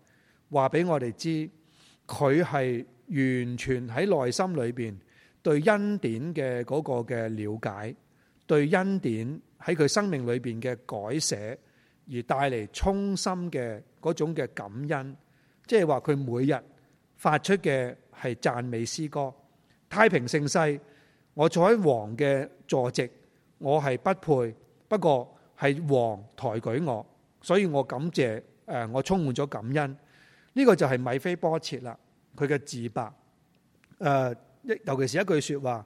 話俾我哋知，佢係完全喺內心裏邊對恩典嘅嗰個嘅了解，對恩典喺佢生命裏邊嘅改寫，而帶嚟衷心嘅嗰種嘅感恩。即係話佢每日發出嘅係讚美詩歌。太平盛世，我坐喺王嘅坐席，我係不配，不過係王抬舉我，所以我感謝，我充滿咗感恩。呢個就係米非波設啦，佢嘅自白。尤其是一句說話，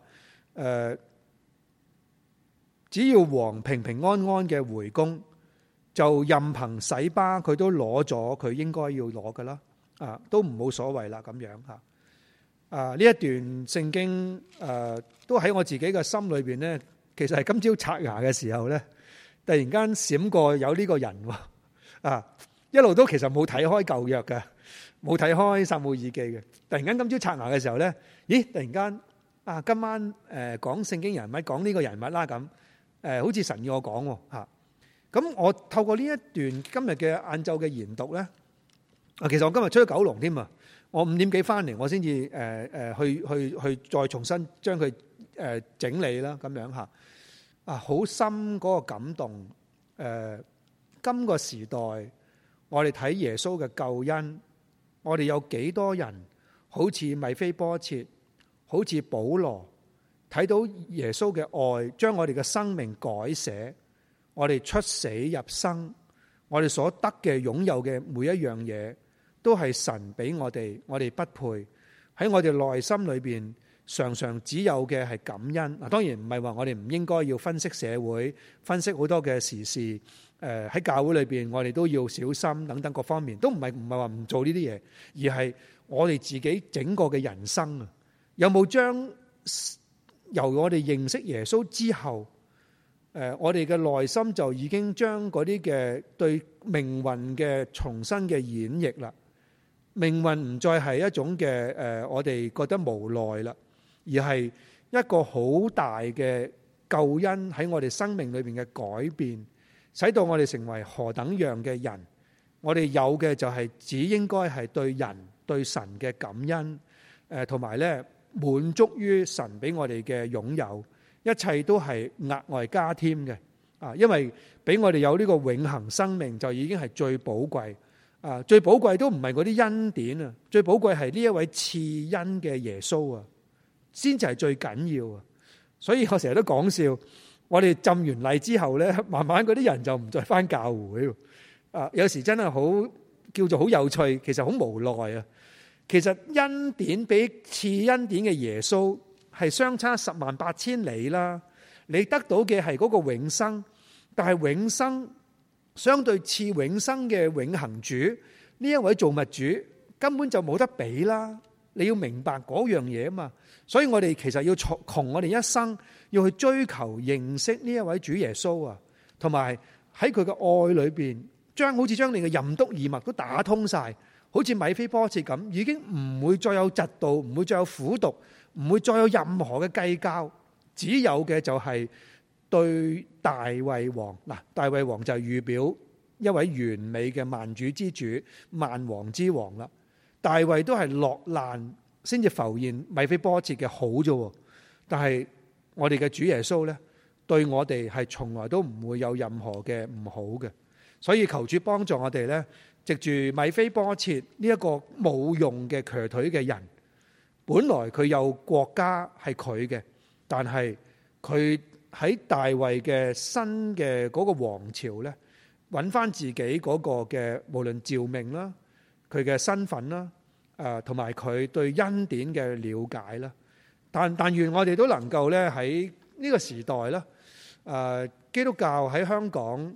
只要王平平安安嘅回宮，就任憑洗巴佢都攞咗佢應該要攞㗎啦，都唔冇所謂啦咁樣吓。呢一段聖經都喺我自己嘅心裏邊呢，其實係今朝刷牙嘅時候呢，突然間閃過有呢個人喎，一路都其實冇睇開舊約嘅，冇睇開撒母耳記嘅。突然間今朝刷牙嘅時候呢，咦？突然間今晚講聖經人物，講呢個人物啦咁，好似神要我講喎吓。咁我透過呢一段今日嘅晏晝嘅研讀呢，其實我今日出咗九龍添啊，我5點幾翻嚟，我先至去再重新將佢整理啦咁樣吓。好深嗰個感動。今個時代我哋睇耶穌嘅救恩，我哋有幾多人好似米非波設，好似保羅，睇到耶穌嘅愛將我哋嘅生命改寫，我哋出死入生，我哋所得嘅擁有嘅每一樣嘢都係神俾我哋，我哋不配。喺我哋內心裏邊常常只有嘅係感恩。當然唔係話我哋唔應該要分析社會，分析好多嘅時事。喺教會裏邊我哋都要小心等等各方面，都唔係話唔做呢啲嘢，而係我哋自己整個嘅人生啊，有冇將由我哋認識耶穌之後，我哋嘅內心就已經將嗰啲嘅對命運嘅重新嘅演繹啦。命運唔再係一種嘅我哋覺得無奈啦，而係一個好大嘅救恩喺我哋生命裏邊嘅改變，使到我哋成為何等樣嘅人。我哋有嘅就係只應該係對人對神嘅感恩，同埋咧滿足於神俾我哋嘅擁有，一切都係額外加添嘅。因為俾我哋有呢個永恆生命就已經係最寶貴。最寶貴都唔係嗰啲恩典啊，最寶貴係呢一位賜恩嘅耶穌啊，先至係最緊要啊。所以我成日都講笑，我哋浸完禮之後咧，慢慢嗰啲人就唔再返教會。有時真係好叫做好有趣，其實好無奈啊。其實恩典比賜恩典嘅耶穌係相差108000里啦。你得到嘅係嗰個永生，但係永生相對賜永生嘅永恆主呢一位造物主根本就冇得比啦。你要明白嗰樣嘢啊嘛。所以我哋其實要窮我哋一生要去追求認識呢一位主耶穌啊，同埋喺佢嘅愛裏邊，好似將你嘅任督二脈都打通晒，好似米非波設咁，已經唔會再有嫉妒，唔會再有苦毒，唔會再有任何嘅計較，只有嘅就係對大衛王。大衛王就係預表一位完美嘅萬主之主、萬王之王啦。大衛都係落難先至浮現米非波設嘅好啫，但係我哋嘅主耶穌呢，對我哋係從來都唔會有任何嘅唔好嘅。所以求主幫助我哋呢，藉住米非波設呢一個冇用嘅瘸腿嘅人，本來佢有國家係佢嘅，但係佢喺大衛嘅新嘅嗰個王朝呢，揾翻自己嗰個嘅無論召命啦，佢嘅身份啦，同埋佢對恩典嘅了解啦。但願我哋都能夠咧喺呢個時代啦，基督教喺香港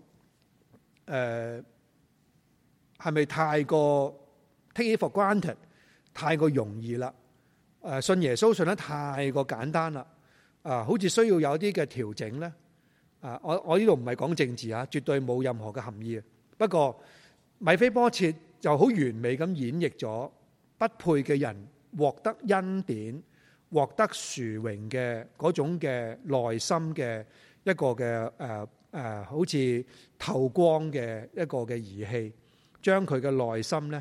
係咪太過 take it for granted， 太過容易啦？信耶穌信得太過簡單啦，好似需要有啲嘅調整咧。我呢度唔係講政治啊，絕對冇任何嘅含義。不過米非波設就好完美咁演繹咗不配嘅人獲得恩典、獲得殊榮嘅嗰種嘅內心嘅一個嘅好似透光嘅一個嘅儀器，將佢嘅內心咧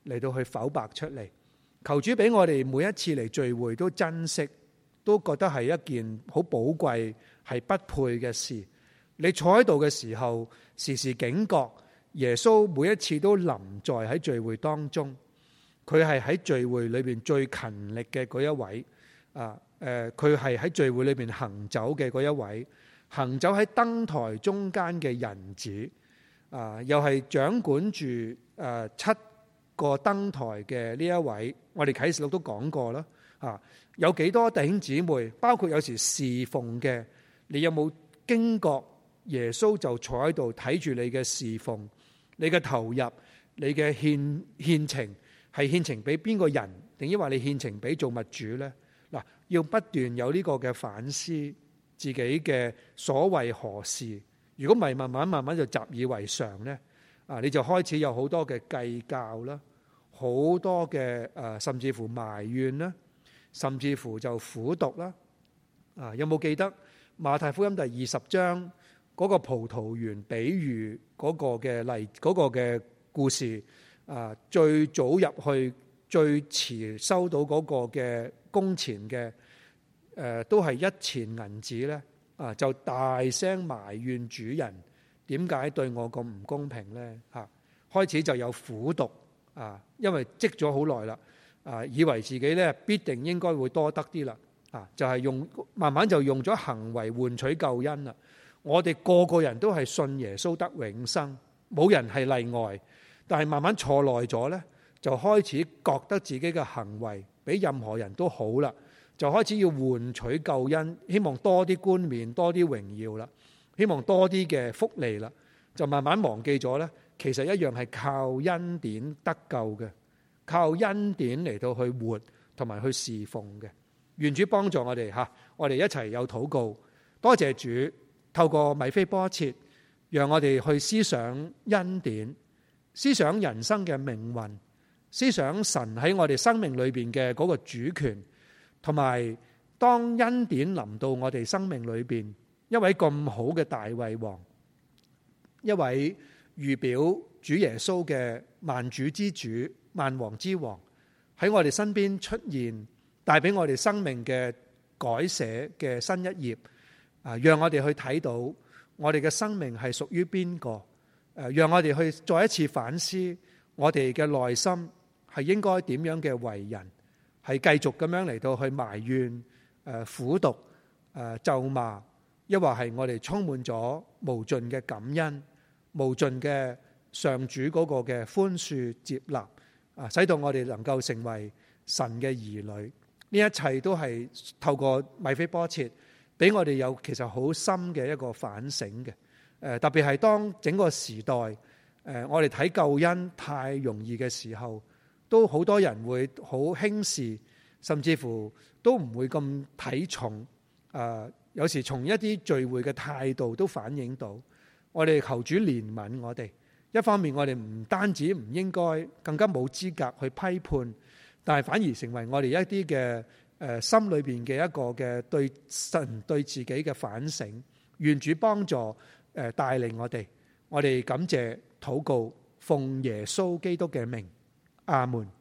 嚟到去剖白出嚟。求主俾我哋每一次嚟聚會都珍惜，都覺得係一件好寶貴、係不配嘅事。你坐喺度嘅時候，時時警覺耶穌每一次都臨在喺聚會當中。佢係喺聚會裏邊最勤力嘅嗰一位。佢係喺聚會裏邊行走嘅嗰一位，行走喺燈台中間嘅人子。又係掌管住7個燈台嘅呢一位。我哋啟示錄都講過啦。有幾多弟兄姊妹，包括有時侍奉嘅，你有冇驚覺耶穌就坐喺度睇住你嘅侍奉，你嘅投入，你嘅獻情，係獻情俾邊個人，定抑或你獻情俾造物主呢？嗱，要不斷有呢個嘅反思自己嘅所謂何事。如果唔係，慢慢就習以為常呢，你就開始有好多嘅計較啦，好多嘅甚至乎埋怨啦，甚至乎就苦毒啦。有冇記得馬太福音第20章嗰個葡萄園比喻嗰個嘅嗰個嘅故事？最早入去，最遲收到嗰個嘅工錢嘅，都係1錢銀子咧。就大聲埋怨主人點解對我咁唔公平呢？開始就有苦毒，因為積咗好耐啦，以為自己咧必定應該會多得啲啦，就係慢慢就用咗行為換取救恩啦。我哋個個人都係信耶穌得永生，冇人係例外。但係慢慢坐耐咗呢，就開始覺得自己嘅行為比任何人都好啦。就開始要換取救恩，希望多啲冠冕，多啲榮耀啦，希望多啲嘅福利啦，就慢慢忘記咗呢，其實一樣係靠恩典得救嘅，靠恩典嚟到去活同埋去侍奉嘅。願主幫助我哋吓，我哋一齊有禱告，多謝主透過米非波設，讓我哋去思想恩典，思想人生嘅命運，思想神喺我哋生命裏邊嘅嗰個主權。同埋，當恩典臨到我哋生命裏邊，一位咁好嘅大衛王，一位預表主耶穌嘅萬主之主、萬王之王，喺我哋身邊出現，帶俾我哋生命嘅改寫嘅新一頁。讓我哋去睇到我哋嘅生命係屬於邊個？讓我哋去再一次反思我哋嘅內心係應該點樣嘅為人。係繼續咁樣嚟到去埋怨、苦毒、咒罵，抑或係我哋充滿咗無盡嘅感恩、無盡嘅上主嗰個嘅寬恕接納，使到我哋能夠成為神嘅兒女。呢一切都係透過米非波設，俾我哋有其實好深嘅一個反省嘅。特別係當整個時代，我哋睇救恩太容易嘅時候，都好多人會好輕視，甚至乎都唔會咁睇重。有時從一啲聚會嘅態度都反映到，我哋求主憐憫我哋。一方面我哋唔單止唔應該，更加冇資格去批判，但係反而成為我哋一啲嘅心裏邊嘅一個嘅對神對自己嘅反省。願主幫助帶領我哋。我哋感謝禱告，奉耶穌基督嘅名。阿門。